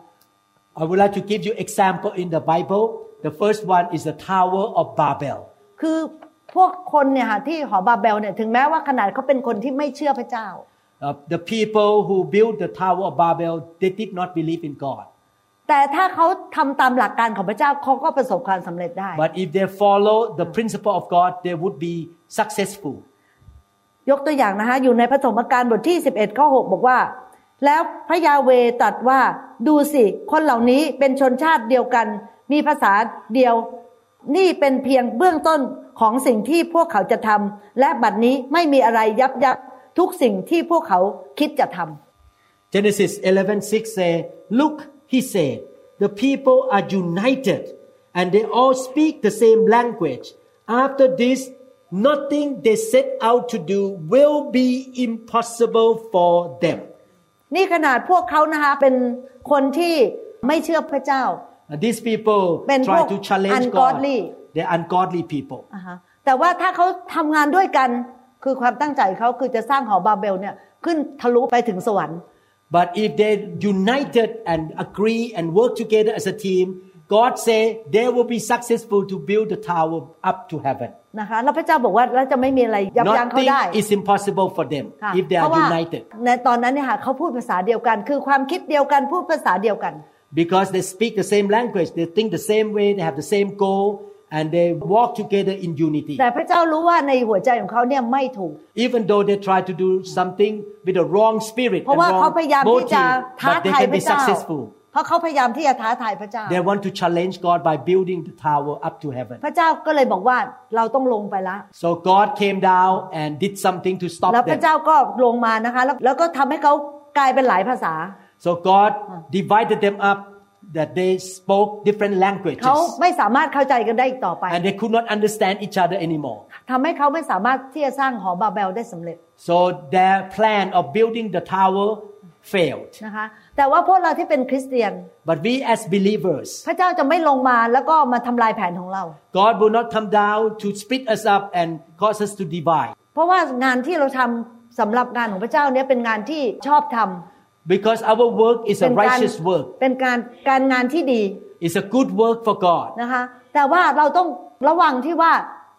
I would like to give you example in the Bible. The first one is the Tower of Babel. คือพวกคนเนี่ยค่ะที่หอบาเบลเนี่ยถึงแม้ว่าขนาดเขาเป็นคนที่ไม่เชื่อพระเจ้า uh, The people who built the Tower of Babel they did not believe in God. แต่ถ้าเขาทำตามหลักการของพระเจ้าเขาก็ประสบความสำเร็จได้ But if they follow the principle of God, they would be successful. ยกตัวอย่างนะคะอยู่ในพระธรรมกาลบทที่สิบเอ็ดข้อหกบอกว่าแล้วพระยาเวห์ตรัสว่าดูสิคนเหล่านี้เป็นชนชาติเดียวกันมีภาษาเดียวนี่เป็นเพียงเบื้องต้นของสิ่งที่พวกเขาจะทำและบัดนี้ไม่มีอะไรยับยั้งทุกสิ่งที่พวกเขาคิดจะทำ Genesis eleven six say, Look, he said, the people are united and they all speak the same language. After this, nothing they set out to do will be impossible for them. นี่ขนาดพวกเขานะคะเป็นคนที่ไม่เชื่อพระเจ้า These people try to challenge God. They're ungodly people. แต่ว่าถ้าเขาทำงานด้วยกันคือความตั้งใจเขาคือจะสร้างหอบาเบลเนี่ยขึ้นทะลุไปถึงสวรรค์ But if they united and agree and work together as a team, God say they will be successful to build the tower up to heaven. นะคะแล้วพระเจ้าบอกว่าแล้วจะไม่มีอะไรยับยั้งเขาได้ Nothing is impossible for them if they are united. ในตอนนั้นเนี่ยค่ะเขาพูดภาษาเดียวกันคือความคิดเดียวกันพูดภาษาเดียวกัน Because they speak the same language, they think the same way, they have the same goal, and they walk together in unity. แต่พระเจ้ารู้ว่าในหัวใจของเขาเนี่ยไม่ถูก Even though they try to do something with a wrong spirit and wrong motive, but they can be successful. เพราะเขาพยายามที่จะท้าทายพระเจ้า They want to challenge God by building the tower up to heaven. พระเจ้าก็เลยบอกว่าเราต้องลงไปละ So God came down and did something to stop them. แล้วพระเจ้าก็ลงมานะคะแล้วก็ทำให้เขากลายเป็นหลายภาษา So God divided them up that they spoke different languages. เขาไม่สามารถเข้าใจกันได้อีกต่อไป And they could not understand each other anymore. ทำให้เขาไม่สามารถที่จะสร้างหอบาเบลได้สำเร็จ So their plan of building the tower failed. นะคะแต่ว่าพวกเราที่เป็นคริสเตียน But we as believers, พระเจ้าจะไม่ลงมาแล้วก็มาทำลายแผนของเรา God will not come down to split us up and cause us to divide. เพราะว่างานที่เราทำสำหรับงานของพระเจ้าเนี่ยเป็นงานที่ชอบทำ Because our work is a righteous work. เป็นการการงานที่ดี It's a good work for God. นะคะแต่ว่าเราต้องระวังที่ว่า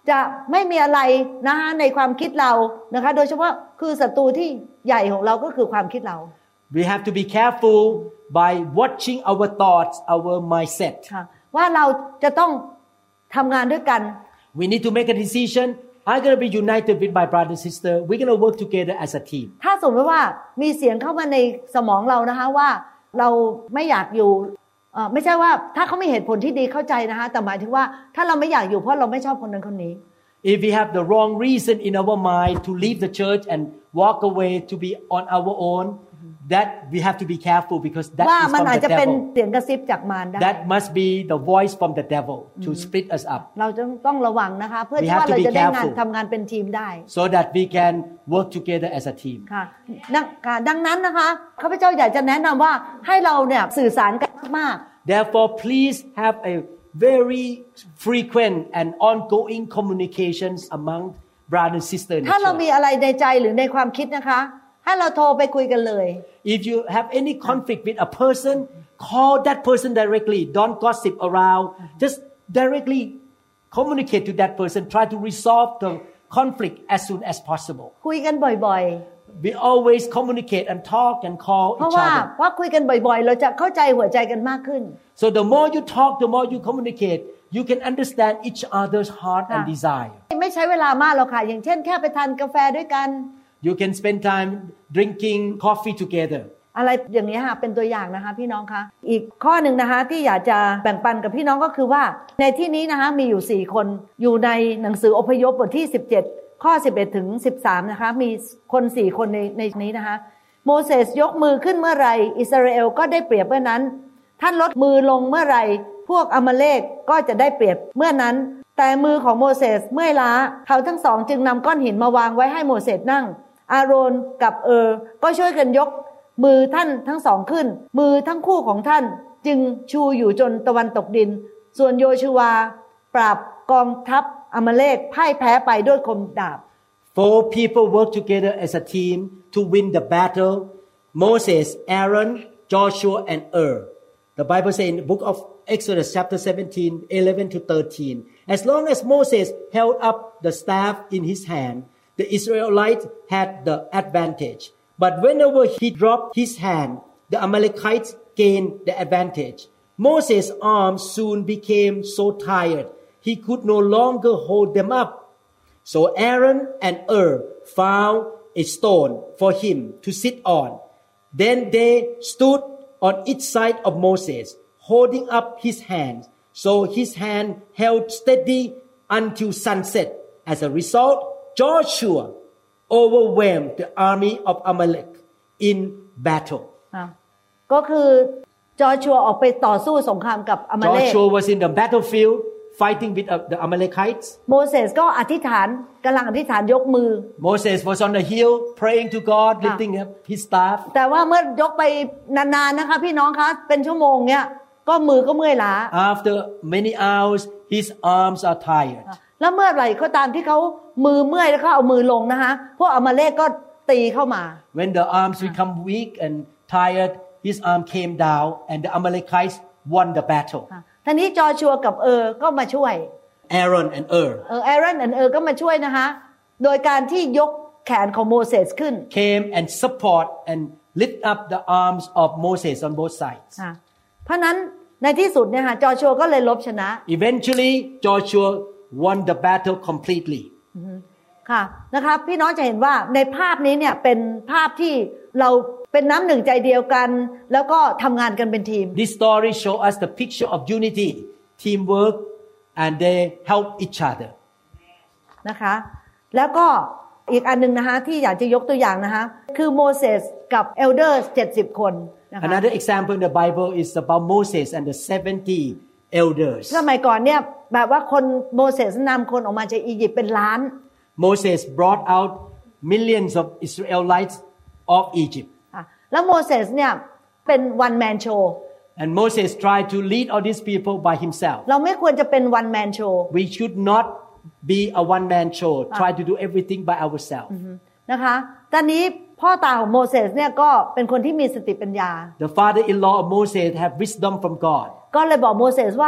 จะไม่มีอะไรนะคะในความคิดเรานะคะโดยเฉพาะคือศัตรูที่ใหญ่ของเราก็คือความคิดเรา We have to be careful by watching our thoughts, our mindset. ว่าเราจะต้องทำงานด้วยกัน We need to make a decision. I'm going to be united with my brother and sister. We're going to work together as a team. ถ้าสมมติว่ามีเสียงเข้ามาในสมองเรานะคะว่าเราไม่อยากอยู่ไม่ใช่ว่าถ้าเขามีเหตุผลที่ดีเข้าใจนะคะแต่หมายถึงว่าถ้าเราไม่อยากอยู่เพราะเราไม่ชอบคนนั้นคนนี้ If we have the wrong reason in our mind to leave the church and walk away to be on our own, that we have to be careful because that is from the devil. เสียงกระซิบจากมารได้ That must be the voice from the devil to split us up. เราจะต้องระวังนะคะเพื่อที่ว่าเราจะได้งานทำงานเป็นทีมได้ So that we can work together as a team. ค่ะดังนั้นนะคะข้าพเจ้าอยากจะแนะนำว่าให้เราเนี่ยสื่อสารกันมาก Therefore, please have a very frequent and ongoing communications among brothers and sisters. ถ้าเรามีอะไรในใจหรือในความคิดนะคะให้เราโทรไปคุยกันเลย If you have any conflict with a person, call that person directly. Don't gossip around. Just directly communicate to that person. Try to resolve the conflict as soon as possible. คุยกันบ่อยๆ We always communicate and talk and call each other. เพราะว่าว่าคุยกันบ่อยๆเราจะเข้าใจหัวใจกันมากขึ้น So the more you talk, the more you communicate, you can understand each other's heart and desire. ไม่ใช้เวลามากหรอกค่ะอย่างเช่นแค่ไปทานกาแฟด้วยกัน You can spend time drinking coffee together. อะไรอย่างนี้ค่ะเป็นตัวอย่างนะคะพี่น้องคะอีกข้อหนึ่งนะคะที่อยากจะแบ่งปันกับพี่น้องก็คือว่าในที่นี้นะคะมีอยู่สี่คนอยู่ในหนังสืออพยพบทที่สิบเจ็ดข้อสิบเอ็ดถึงสิบสามนะคะมีคนสี่คนในในนี้นะคะโมเสสยกมือขึ้นเมื่อไรอิสราเอลก็ได้เปรียบเมื่อนั้นท่านลดมือลงเมื่อไรพวกอมาเลกก็จะได้เปรียบเมื่อนั้นแต่มือของโมเสสเมื่อยล้าเขาทั้งสองจึงนำก้อนหินมาวางไว้ให้โมเสสนั่งอาโรนกับเออก็ช่วยกันยกมือท่านทั้งสองขึ้นมือทั้งคู่ของท่านจึงชูอยู่จนตะวันตกดินส่วนโยชูวาปราบกองทัพอมาเลกพ่ายแพ้ไปด้วยคมดาบ Four people work together as a team to win the battle. Moses, Aaron, Joshua, and Ur. The Bible says in the book of Exodus chapter seventeen, eleven to thirteen, as long as Moses held up the staff in his hand, the Israelites had the advantage. But whenever he dropped his hand, the Amalekites gained the advantage. Moses' arms soon became so tired, he could no longer hold them up. So Aaron and Ur found a stone for him to sit on. Then they stood on each side of Moses, holding up his hands, so his hand held steady until sunset. As a result, Joshua overwhelmed the army of Amalek in battle. ก็คือจอชัวออกไปต่อสู้สงครามกับอมาเลก Joshua was in the battlefield fighting with the Amalekites. โมเสสก็อธิษฐานกำลังอธิษฐานยกมือ Moses was on the hill praying to God, lifting up his staff. แต่ว่าเมื่อยกไปนานๆนะคะพี่น้องคะเป็นชั่วโมงเนี้ยก็มือก็เมื่อยล้า After many hours, his arms are tired. แล้วเมื่อไหร่ก็ตามที่เขามือเมื่อยแล้วเขาเอามือลงนะคะพวกอมาเลกก็ตีเข้ามา When the arms become weak and tired, his arm came down, and the Amalekites won the battle. ทีนี้จอชัวกับเออก็มาช่วย Aaron and Ur เออ Aaron and Ur ก็มาช่วยนะคะโดยการที่ยกแขนของโมเสสขึ้น came and support and lift up the arms of Moses on both sides. เพราะนั้นในที่สุดเนี่ยค่ะจอชัวก็เลยลบชนะ Eventually, Joshua won the battle completely. ค่ะนะคะพี่น้องจะเห็นว่าในภาพนี้เนี่ยเป็นภาพที่เราเป็นน้ำหนึ่งใจเดียวกันแล้วก็ทำงานกันเป็นทีม This story show us the picture of unity, teamwork, and they help each other. นะคะแล้วก็อีกอันนึงนะคะที่อยากจะยกตัวอย่างนะคะคือโมเสสกับเอลเดอร์เจ็ดสิบคนนะคะ Another example in the Bible is about Moses and the seventy elders. สมัยก่อนเนี่ยแบบว่าคนโมเสสนำคนออกมาจากอียิปต์เป็นล้าน Moses brought out millions of Israelites of Egypt. แล้วโมเสสเนี่ยเป็น one man show. And Moses tried to lead all these people by himself. เราไม่ควรจะเป็น one man show. We should not be a one man show. Try to do everything by ourselves. นะคะตอนนี้พ่อตาของโมเสสเนี่ยก็เป็นคนที่มีสติปัญญา The father-in-law of Moses have wisdom from God. ก็เลยบอกโมเสสว่า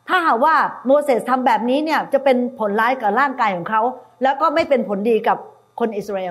ถ้าหากว่าโมเสสทำแบบนี้เนี่ยจะเป็นผลร้ายกับร่างกายของเขาแล้วก็ไม่เป็นผลดีกับคนอิสราเอล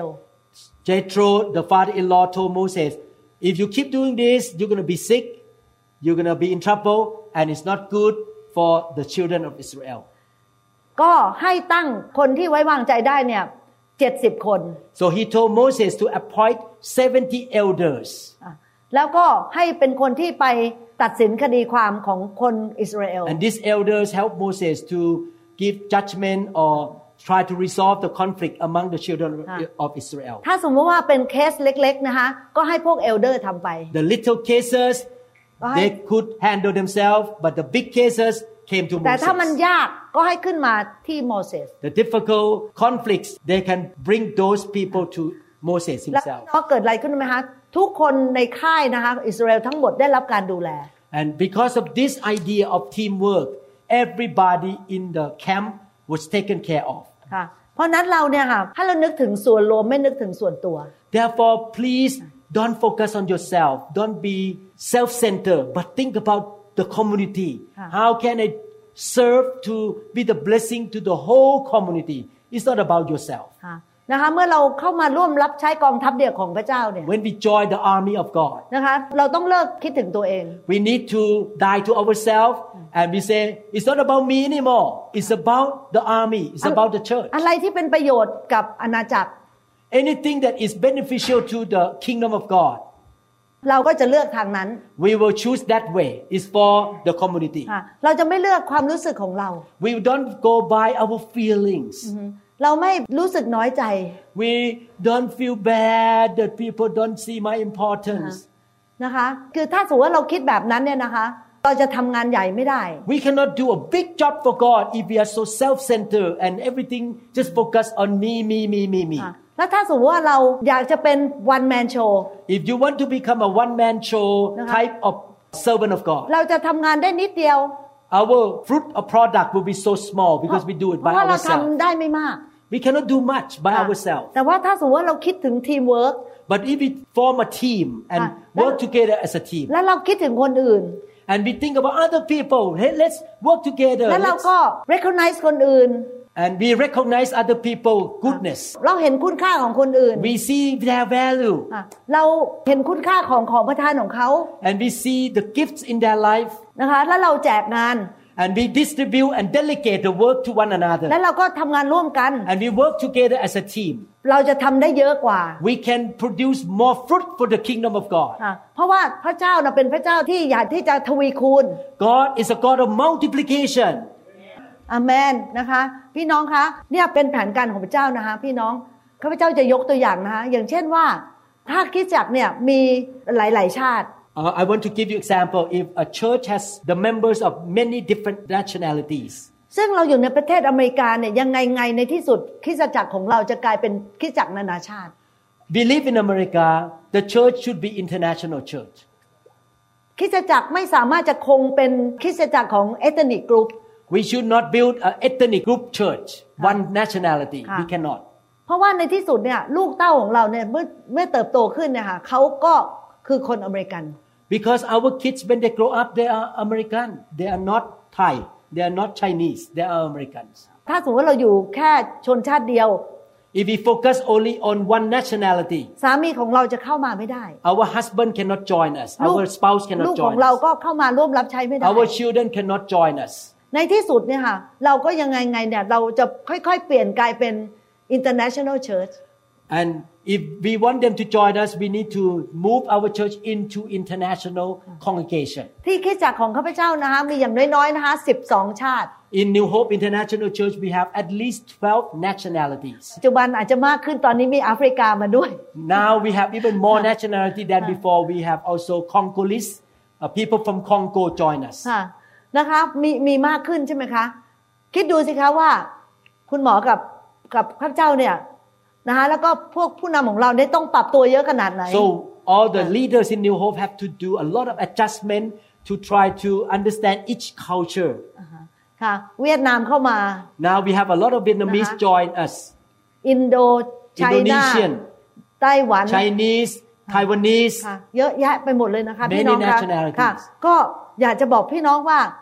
Jethro the father-in-law told Moses if you keep doing this you're going to be sick you're going to be in trouble and it's not good for the children of Israel ก็ให้ตั้งคนที่ไว้วางใจได้เนี่ยเจ็ดสิบคน So he told Moses to appoint seventy elders แล้วก็ให้เป็นคนที่ไปตัดสินคดีความของคนอิสราเอล And these elders helped Moses to give judgment or try to resolve the conflict among the children of Israel ถ้าสมมติว่าเป็นเคสเล็กๆนะคะก็ให้พวกเอลเดอร์ทำไป The little cases they could handle themselves but the big cases came to Moses แต่ถ้ามันยากก็ให้ขึ้นมาที่โมเสส The difficult conflicts they can bring those people to Moses แล้ว himself ก็เกิดอะไรขึ้นไหมคะทุกคนในค่ายนะคะอิสราเอลทั้งหมดได้รับการดูแล And because of this idea of teamwork everybody in the camp was taken care of ค่ะเพราะนั้นเราเนี่ยค่ะถ้าเรานึกถึงส่วนรวมไม่นึกถึงส่วนตัว Therefore please don't focus on yourself don't be self-centered but think about the community how can I serve to be the blessing to the whole community it's not about yourself นะคะเมื่อเราเข้ามาร่วมรับใช้กองทัพเดียวของพระเจ้าเนี่ย When we join the army of God นะคะเราต้องเลิกคิดถึงตัวเอง We need to die to ourselves and we say it's not about me anymore it's about the army it's about the church อะไรที่เป็นประโยชน์กับอาณาจักร Anything that is beneficial to the kingdom of God เราก็จะเลือกทางนั้น We will choose that way it's for the community เราจะไม่เลือกความรู้สึกของเรา We don't go by our feelings เราไม่รู้สึกน้อยใจ We don't feel bad that people don't see my importance นะคะคือถ้าสมมติว่าเราคิดแบบนั้นเนี่ยนะคะเราจะทำงานใหญ่ไม่ได้ We cannot do a big job for God if we are so self-centered and everything just focus on me me me me me แล้วถ้าสมมติว่าเราอยากจะเป็น one man show If you want to become a one man show type of servant of God เราจะทำงานได้นิดเดียว Our fruit or product will be so small because we do it by เพราะเรา ourselves ทำได้ไม่มาก We cannot do much by ourselves แต่ว่าถ้าสมมติว่าเราคิดถึงทีมเวิร์ก But if we form a team and work together as a team แล้วเราคิดถึงคนอื่น and we think about other people hey let's work together แล้วเราก็ recognize คนอื่น and we recognize other people goodness เราเห็นคุณค่าของคนอื่น we see their value เราเห็นคุณค่าของของประทานของเขา and we see the gifts in their life นะคะแล้วเราแจกงาน and we distribute and delegate the work to one another แล้วเราก็ทำงานร่วมกัน and we work together as a team เราจะทำได้เยอะกว่า we can produce more fruit for the kingdom of God เพราะว่าพระเจ้าน่ะเป็นพระเจ้าที่อยากที่จะทวีคูณ God is a God of multiplication อาเมนนะคะพี่น้องคะเนี่ยเป็นแผนการของพระเจ้านะคะพี่น้องข้าพเจ้าจะยกตัวอย่างนะคะอย่างเช่นว่าถ้าคริสตจักรเนี่ยมีหลายๆชาติ Uh, I want to give you example if a church has the members of many different nationalities ซึ่งเราอยู่ในประเทศอเมริกาเนี่ยยังไงไงในที่สุดคริสตจักรของเราจะกลายเป็นคริสตจักรนานาชาติ We live in America the church should be international church คริสตจักรไม่สามารถจะคงเป็นคริสตจักรของ ethnic group We should not build an ethnic group church one nationality we cannot เพราะว่าในที่สุดเนี่ยลูกเต้าของเราเนี่ยเมื่อเมื่อเติบโตขึ้นเนี่ยค่ะเขาก็คือคนอเมริกัน Because our kids when they grow up they are American they are not Thai they are not Chinese they are Americans ถ้าสมมติว่าเราอยู่แค่ชนชาติเดียว If we focus only on one nationality สามีของเราจะเข้ามาไม่ได้ Our husband cannot join us our spouse cannot ลูก join ของเรา us ก็เข้ามาร่วมรับใช้ไม่ได้ Our children cannot join us ในที่สุดเนี่ยค่ะเราก็ยังไงไงเนี่ยเราจะค่อยๆเปลี่ยนกลายเป็น international church And if we want them to join us we need to move our church into international congregation ที่คริสตจักรของข้าพเจ้านะคะมีอย่างน้อยๆนะคะสิบสองชาติ In New Hope International Church we have at least twelve nationalities ปัจจุบันอาจจะมากขึ้นตอนนี้มีแอฟริกามาด้วย Now we have even more nationality than before we have also Congolese uh, people from Congo join us นะคะมีมีมากขึ้นใช่ไหมคะคิดดูสิคะว่าคุณหมอกับกับข้าพเจ้าเนี่ยนะคะแล้วก็พวกผู้นำของเราเนี่ยต้องปรับตัวเยอะขนาดไหน So all the leaders in New Hope have to do a lot of adjustment to try to understand each culture ค่ะเวียดนามเข้ามา Now we have a lot of Vietnamese join us อินโดไชน่า Indonesian ไต้หวัน Chinese Taiwanese ค่ะเยอะแยะไปหมดเลยนะคะ Many พี่น้องคะ nationalities ค่ะก็อยากจะบอกพี่น้องว่า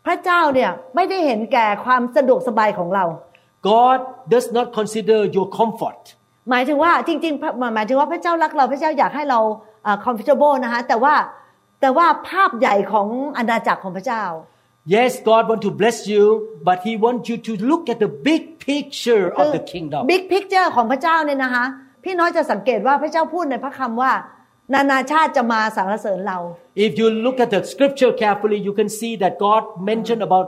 พระเจ้าเนี่ยไม่ได้เห็นแก่ความสะดวกสบายของเรา God does not consider your comfort หมายถึงว่าจริงๆหมายถึงว่าพระเจ้ารักเราพระเจ้าอยากให้เราเอ่อ comfortable นะคะแต่ว่าแต่ว่าภาพใหญ่ของอาณาจักรของพระเจ้า Yes God want to bless you but he want you to look at the big picture of the kingdom big picture ของพระเจ้าเนี่ยนะคะพี่น้อยจะสังเกตว่าพระเจ้าพูดในพระคำว่านานาชาติจะมาสรรเสริญเรา If you look at the scripture carefully you can see that God mentioned about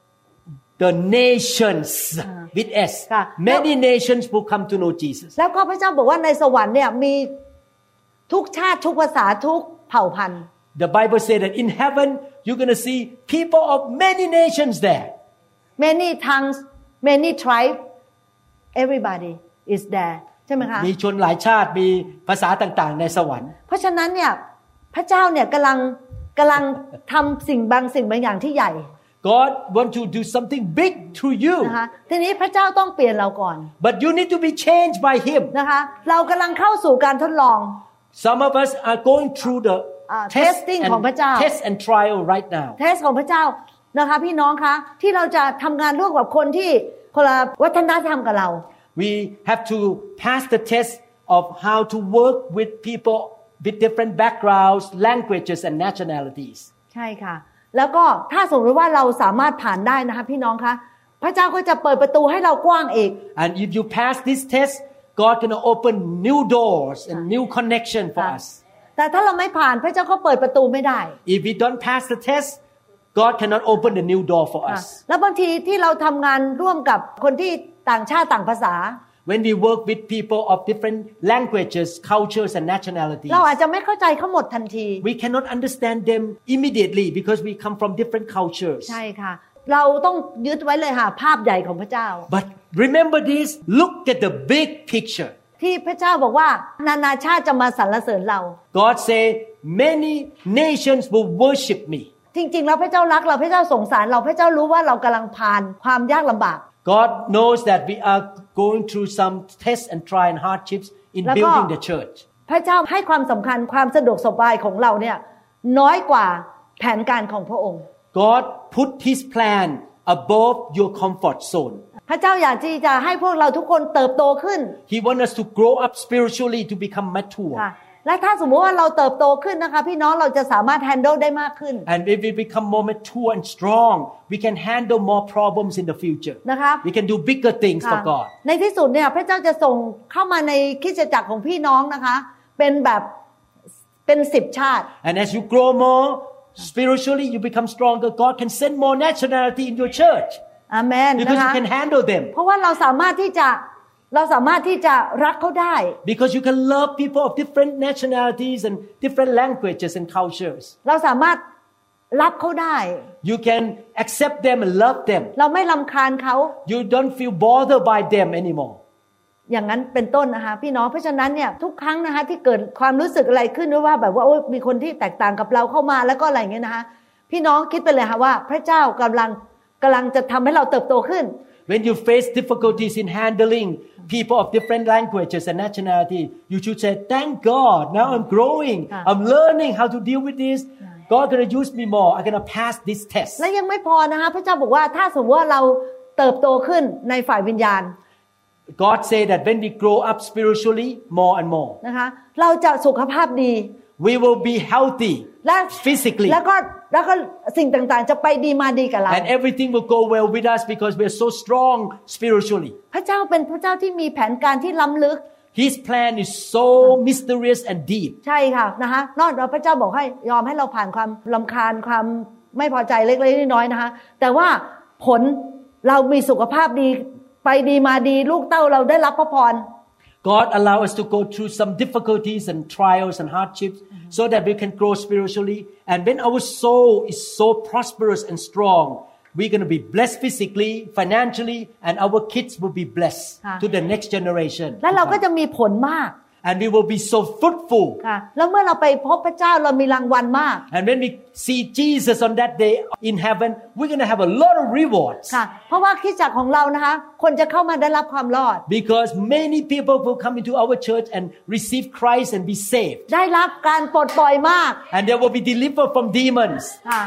the nations with S many nations will come to know Jesus แล้วก็พระเจ้าบอกว่าในสวรรค์เนี่ยมีทุกชาติทุกภาษาทุกเผ่าพันธุ์ The Bible says that in heaven you're going to see people of many nations there many tongues many tribes everybody is there ใช่ไหมคะมีชนหลายชาติมีภาษาต่างๆในสวรรค์เพราะฉะนั้นเนี่ยพระเจ้าเนี่ยกำลังกำลังทำสิ่งบางสิ่งบางอย่างที่ใหญ่ God want to do something big through you นะคะทีนี้พระเจ้าต้องเปลี่ยนเราก่อน But you need to be changed by him นะคะเรากำลังเข้าสู่การทดลอง Some of us are going through the test and test and trial right now test ของพระเจ้านะคะพี่น้องคะที่เราจะทำงานร่วมกับคนที่คนละวัฒนธรรมกับเรา We have to pass the test of how to work with people with different backgrounds, languages, and nationalities. ใช่ค่ะแล้วก็ถ้าสมมติว่าเราสามารถผ่านได้นะคะพี่น้องคะพระเจ้าก็จะเปิดประตูให้เรากว้างอีก And if you pass this test, God gonna open new doors and new connection for us. แต่ถ้าเราไม่ผ่านพระเจ้าก็เปิดประตูไม่ได้ If we don't pass the test, God cannot open the new door for us. แล้วบางทีที่เราทำงานร่วมกับคนที่ต่างชาติต่างภาษา When we work with people of different languages, cultures, and nationalities, เราอาจจะไม่เข้าใจเขาหมดทันที we cannot understand them immediately because we come from different cultures. ใช่ค่ะเราต้องยึดไว้เลยค่ะภาพใหญ่ของพระเจ้า But remember this, look at the big picture. ที่พระเจ้าบอกว่านานาชาติจะมาสรรเสริญเรา God say many nations will worship me. จริงๆแล้วพระเจ้ารักเราพระเจ้าสงสารเราพระเจ้ารู้ว่าเรากำลังผ่านความยากลำบาก God knows that we are going through some tests and trials and hardships in building the church. พระเจ้าให้ความสำคัญความสะดวกสบายของเราเนี่ยน้อยกว่าแผนการของพระองค์ God put His plan above your comfort zone. พระเจ้าอยากที่จะให้พวกเราทุกคนเติบโตขึ้น He wants us to grow up spiritually to become mature. และถ้าสมมติว่าเราเติบโตขึ้นนะคะพี่น้องเราจะสามารถ handle ได้มากขึ้น And if we become more mature and strong, we can handle more problems in the future. นะคะ We can do bigger things for God. ในที่สุดเนี่ยพระเจ้าจะส่งเข้ามาในคริสตจักรของพี่น้องนะคะเป็นแบบเป็นสิบชาติ And as you grow more spiritually, you become stronger. God can send more nationality in your church. อาเมน Because นะคะ you can handle them. เพราะว่าเราสามารถที่จะเราสามารถที่จะรักเขาได้ Because you can love people of different nationalities and different languages and cultures. เราสามารถรับเขาได้ You can accept them and love them. เราไม่รำคาญเขา You don't feel bothered by them anymore. อย่างนั้นเป็นต้นนะคะพี่น้องเพราะฉะนั้นเนี่ยทุกครั้งนะคะที่เกิดความรู้สึกอะไรขึ้นว่าแบบว่าโอ้มีคนที่แตกต่างกับเราเข้ามาแล้วก็อะไรอย่างเงี้ยนะคะพี่น้องคิดไปเลยค่ะว่าพระเจ้ากำลังกำลังจะทำให้เราเติบโตขึ้น When you face difficulties in handling people of different languages and nationality, you should say, "Thank God, now I'm growing. I'm learning how to deal with this. God gonna use me more. I'm gonna pass this test." และยังไม่พอนะคะพระเจ้าบอกว่าถ้าสมมติว่าเราเติบโตขึ้นในฝ่ายวิญญาณ God say that when we grow up spiritually more and more, นะคะเราจะสุขภาพดี we will be healthy และ physically. แล้วก็แล้วก็สิ่งต่างๆจะไปดีมาดีกับเรา And everything will go well with us because we are so strong spiritually. พระเจ้าเป็นพระเจ้าที่มีแผนการที่ล้ำลึก His plan is so mysterious and deep. ใช่ค่ะนะคะนอกจากพระเจ้าบอกให้ยอมให้เราผ่านความรำคาญความไม่พอใจเล็กๆน้อยๆนะคะแต่ว่าผลเรามีสุขภาพดีไปดีมาดีลูกเต้าเราได้รับพระพร God allow us to go through some difficulties and trials and hardships so that we can grow spiritually. And when our soul is so prosperous and strong, we're going to be blessed physically, financially, and our kids will be blessed to the next generation. และเราก็จะมีผลมาก And we will be so fruitful. ค่ะแล้วเมื่อเราไปพบพระเจ้าเรามีรางวัลมาก And when we see Jesus on that day in heaven, we're going to have a lot of rewards. ค่ะเพราะว่าคริสตจักรของเรานะคะคนจะเข้ามาได้รับความรอด Because many people will come into our church and receive Christ and be saved. ได้รับการปลดปล่อยมาก And they will be delivered from demons. ค่ะ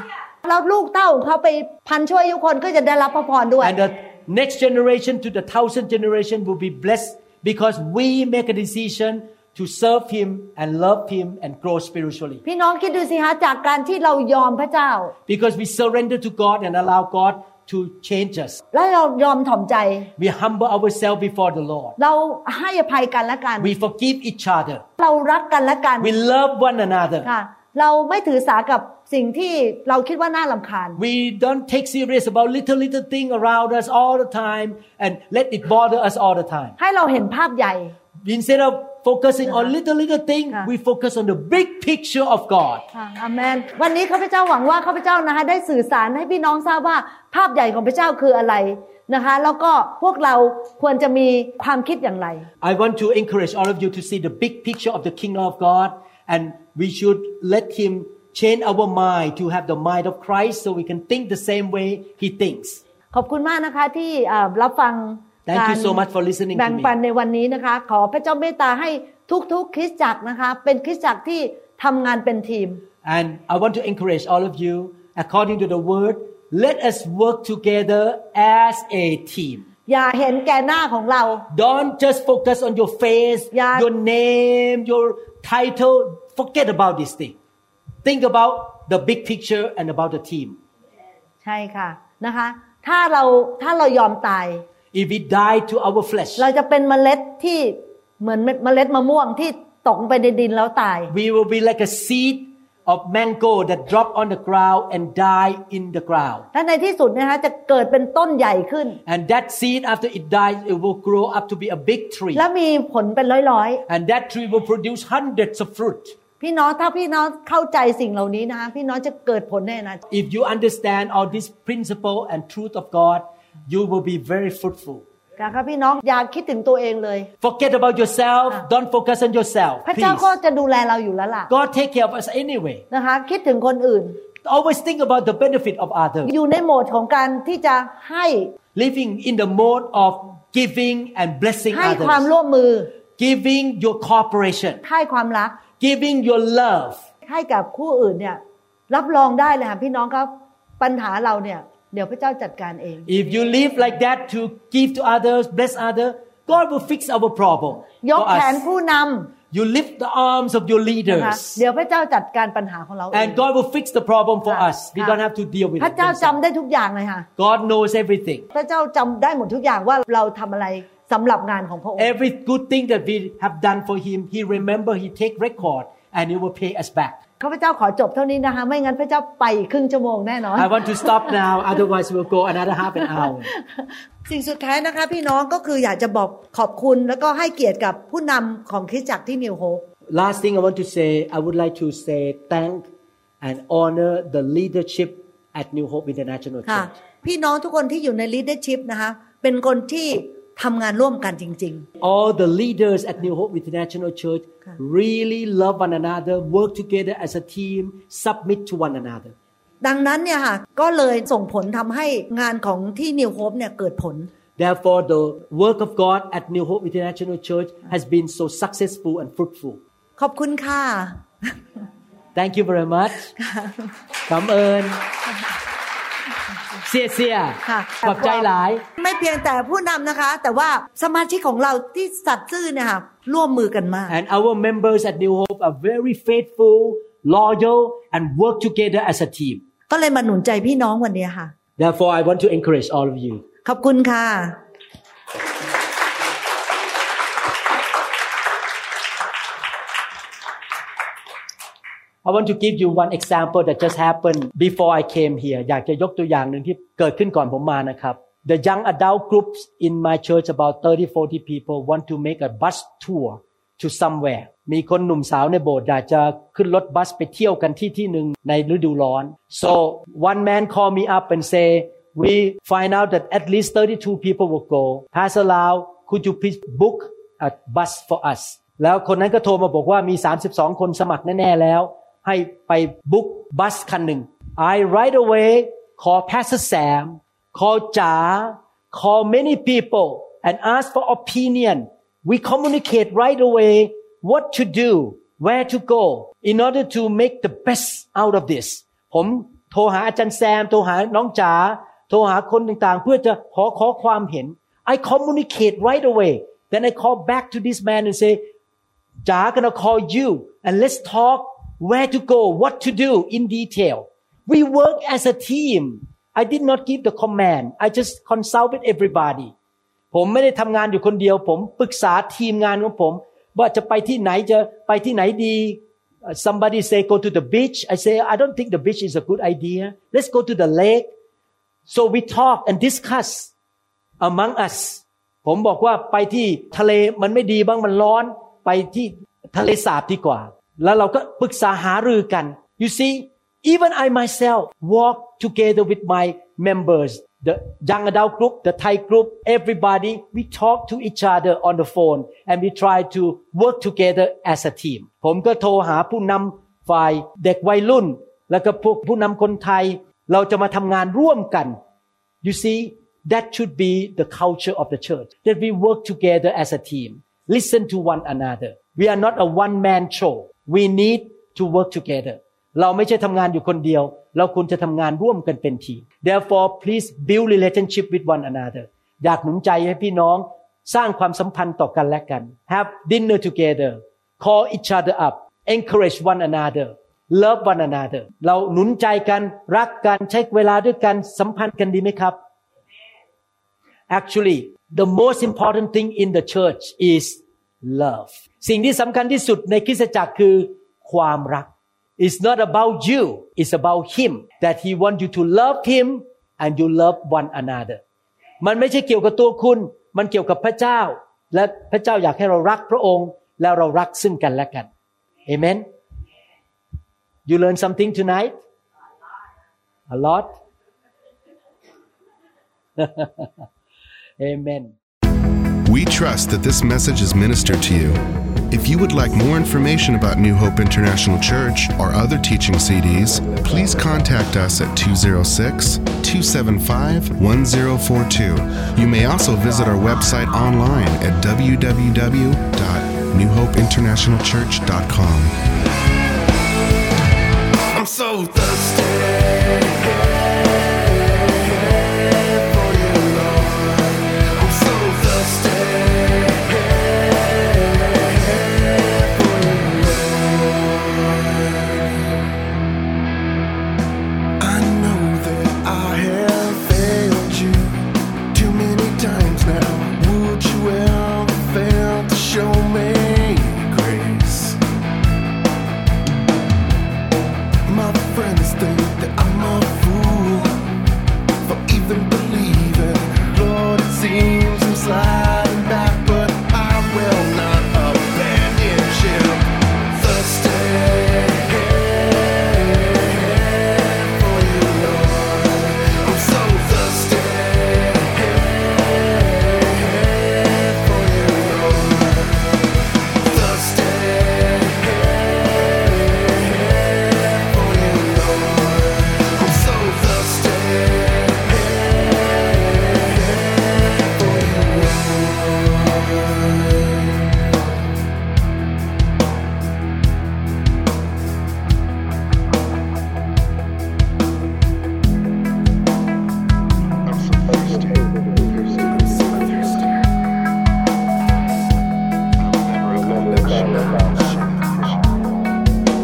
แล้วลูกเต้าของเขาไปพันชั่วอายุคนก็จะได้รับพระพรด้วย And the next generation to the thousand generation will be blessed because we make a decision to serve Him and love Him and grow spiritually. พี่น้องคิดดูสิฮะจากการที่เรายอมพระเจ้า Because we surrender to God and allow God to change us. แล้วเรายอมถ่อมใจ We humble ourselves before the Lord. เราให้อภัยกันและกัน We forgive each other. เรารักกันและกัน We love one another. ค่ะเราไม่ถือสากับสิ่งที่เราคิดว่าน่ารำคาญ We don't take serious about little little thing around us all the time and let it bother us all the time. ให้เราเห็นภาพใหญ่ Instead of focusing on little little thing, we focus on the big picture of God. อาเมนวันนี้ข้าพเจ้าหวังว่าข้าพเจ้านะคะได้สื่อสารให้พี่น้องทราบว่าภาพใหญ่ของพระเจ้าคืออะไรนะคะแล้วก็พวกเราควรจะมีความคิดอย่างไร I want to encourage all of you to see the big picture of the kingdom of God, and we should let Him change our mind to have the mind of Christ so we can think the same way He thinks. ขอบคุณมากนะคะที่รับฟัง Thank you so much for listening to me. แบ่งปันในวันนี้นะคะขอพระเจ้าเมตตาให้ทุกๆคริสตจักรนะคะเป็นคริสตจักรที่ทำงานเป็นทีม And I want to encourage all of you, according to the word, let us work together as a team. อย่าเห็นแก่หน้าของเรา Don't just focus on your face, your name, your title. Forget about this thing. Think about the big picture and about the team. ใช่ค่ะนะคะถ้าเราถ้าเรายอมตาย If we die to our flesh, เราจะเป็นเมล็ดที่เหมือนเมล็ดมะม่วงที่ตกไปในดินแล้วตาย We will be like a seed of mango that drop on the ground and die in the ground. และในที่สุดนะคะจะเกิดเป็นต้นใหญ่ขึ้น And that seed, after it dies, it will grow up to be a big tree. และมีผลเป็นร้อยๆ And that tree will produce hundreds of fruit. พี่น้องถ้าพี่น้องเข้าใจสิ่งเหล่านี้นะคะพี่น้องจะเกิดผลแน่นะ If you understand all this principle and truth of God, you will be very fruitful. ค่ะพี่น้องอย่าคิดถึงตัวเองเลย Forget about yourself. Don't focus on yourself. พระเจ้า Please. ก็จะดูแลเราอยู่แล้วล่ะ God take care of us anyway. นะคะคิดถึงคนอื่น Always think about the benefit of others. อยู่ในโหมดของการที่จะให้ Living in the mode of giving and blessing ให้ความร่ว others. มมือ Giving your cooperation. ให้ความรัก Giving your love. ให้กับคู่อื่นเนี่ยรับรองได้เลยค่ะพี่น้องครับปัญหาเราเนี่ยเดี๋ยวพระเจ้าจัดการเอง If you live like that to give to others, bless others, God will fix our problem ยก for แขน us. ผู้น You lift the arms of your ำนะคะ leaders, เดี๋ยวพระเจ้าจัดการปัญหาของเราเอง and God will fix the problem for us. We don't have to deal with พระ it. เจ้าจำ themselves. ได้ทุกอย่างเลยค่ะ God knows everything. พระเจ้าจำได้หมดทุกอย่างว่าเราทำอะไรสำหรับงานของพระองค์ Every good thing that we have done for Him, He remember, He take record, and He will pay us back. ข้าพเจ้าขอจบเท่านี้นะคะไม่งั้นพระเจ้าไปครึ่งชั่วโมงแน่นอน I want to stop now, otherwise we'll go another half an hour. สิ่งสุดท้ายนะคะพี่น้องก็คืออยากจะบอกขอบคุณแล้วก็ให้เกียรติกับผู้นำของคริสตจักรที่นิวโฮป Last thing I want to say, I would like to say thank and honor the leadership at New Hope International ค่ะ Church. พี่น้องทุกคนที่อยู่ใน leadership นะคะเป็นคนที่ทำงานร่วมกันจริง All the leaders at New Hope International Church really love one another, work together as a team, submit to one another. ๆดังนั้นเนี่ยค่ะก็เลยส่งผลทำให้งานของที่นิวโฮปเนี่ยเกิดผล Therefore, the work of God at New Hope International Church has been so successful and fruitful. ขอบคุณค่ะ Thank you very much. ขอบคุณเสียเสียค่ะขอบใจหลายไม่เพียงแต่ผู้นำนะคะแต่ว่าสมาชิกของเราที่สัตย์ซื่อเนี่ยค่ะร่วมมือกันมาก And our members at New Hope are very faithful, loyal, and work together as a team. ก็เลยมาหนุนใจพี่น้องวันนี้ค่ะ Therefore, I want to encourage all of you. ขอบคุณค่ะ I want to give you one example that just happened before I came here. อยากจะยกตัวอย่างหนึ่งที่เกิดขึ้นก่อนผมมานะครับ The young adult groups in my church about thirty forty people want to make a bus tour to somewhere. มีคนหนุ่มสาวในโบสถ์อยากจะขึ้นรถบัสไปเที่ยวกันที่ที่หนึ่งในฤดูร้อน So one man called me up and say, we find out that at least thirty-two people will go. Pastor Lau, could you please book a bus for us? แล้วคนนั้นก็โทรมาบอกว่ามีสามสิบสองคนสมัครแน่ๆแล้วให้ไปบุ๊กบัสคันหนึ่ง I right away call Pastor Sam, call จ๋า call many people and ask for opinion. We communicate right away what to do, where to go in order to make the best out of this. ผมโทรหาอาจารย์แซมโทรหาน้องจ๋าโทรหาคนต่างๆเพื่อจะขอขอความเห็น I communicate right away then I call back to this man and say จ๋า gonna call you and let's talk where to go what to do in detail we work as a team I did not give the command I just consulted everybody ผมไม่ได้ทำงานอยู่คนเดียวผมปรึกษาทีมงานของผมว่าจะไปที่ไหนจะไปที่ไหนดี somebody say go to the beach I say I don't think the beach is a good idea let's go to the lake so we talk and discuss among us ผมบอกว่าไปที่ทะเลมันไม่ดีบ้างมันร้อนไปที่ทะเลสาบดีกว่าแล้วเราก็ปรึกษาหารือกัน you see even I myself walk together with my members the young adult group the Thai group everybody we talk to each other on the phone and we try to work together as a team ผมก็โทรหาผู้นำฝ่ายเด็กวัยรุ่นแล้วก็พวกผู้นำคนไทยเราจะมาทำงานร่วมกัน you see that should be the culture of the church that we work together as a team listen to one another we are not a one man show we need to work together เราไม่ใช่ทำงานอยู่คนเดียวเราควรจะทำงานร่วมกันเป็นทีม therefore please build relationship with one another อยากหนุนใจให้พี่น้องสร้างความสัมพันธ์ต่อกันและกัน have dinner together call each other up encourage one another love one another เราหนุนใจกันรักกันใช้เวลาด้วยกันสัมพันธ์กันดีไหมครับ actually the most important thing in the church is love สิ่งที่สำคัญที่สุดในคริสตจักรคือความรักIt's not about you. It's about Him. That He wants you to love Him and you love one another. มันไม่ใช่เกี่ยวกับตัวคุณมันเกี่ยวกับพระเจ้าและพระเจ้าอยากให้เรารักพระองค์แล้วเรารักซึ่งกันและกัน Amen. You learn something tonight? A lot. Amen. We trust that this message is ministered to you.If you would like more information about New Hope International Church or other teaching C Ds, please contact us at two oh six, two seven five, one oh four two. You may also visit our website online at w w w dot new hope international church dot com. I'm so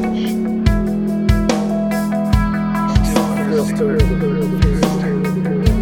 thirsty.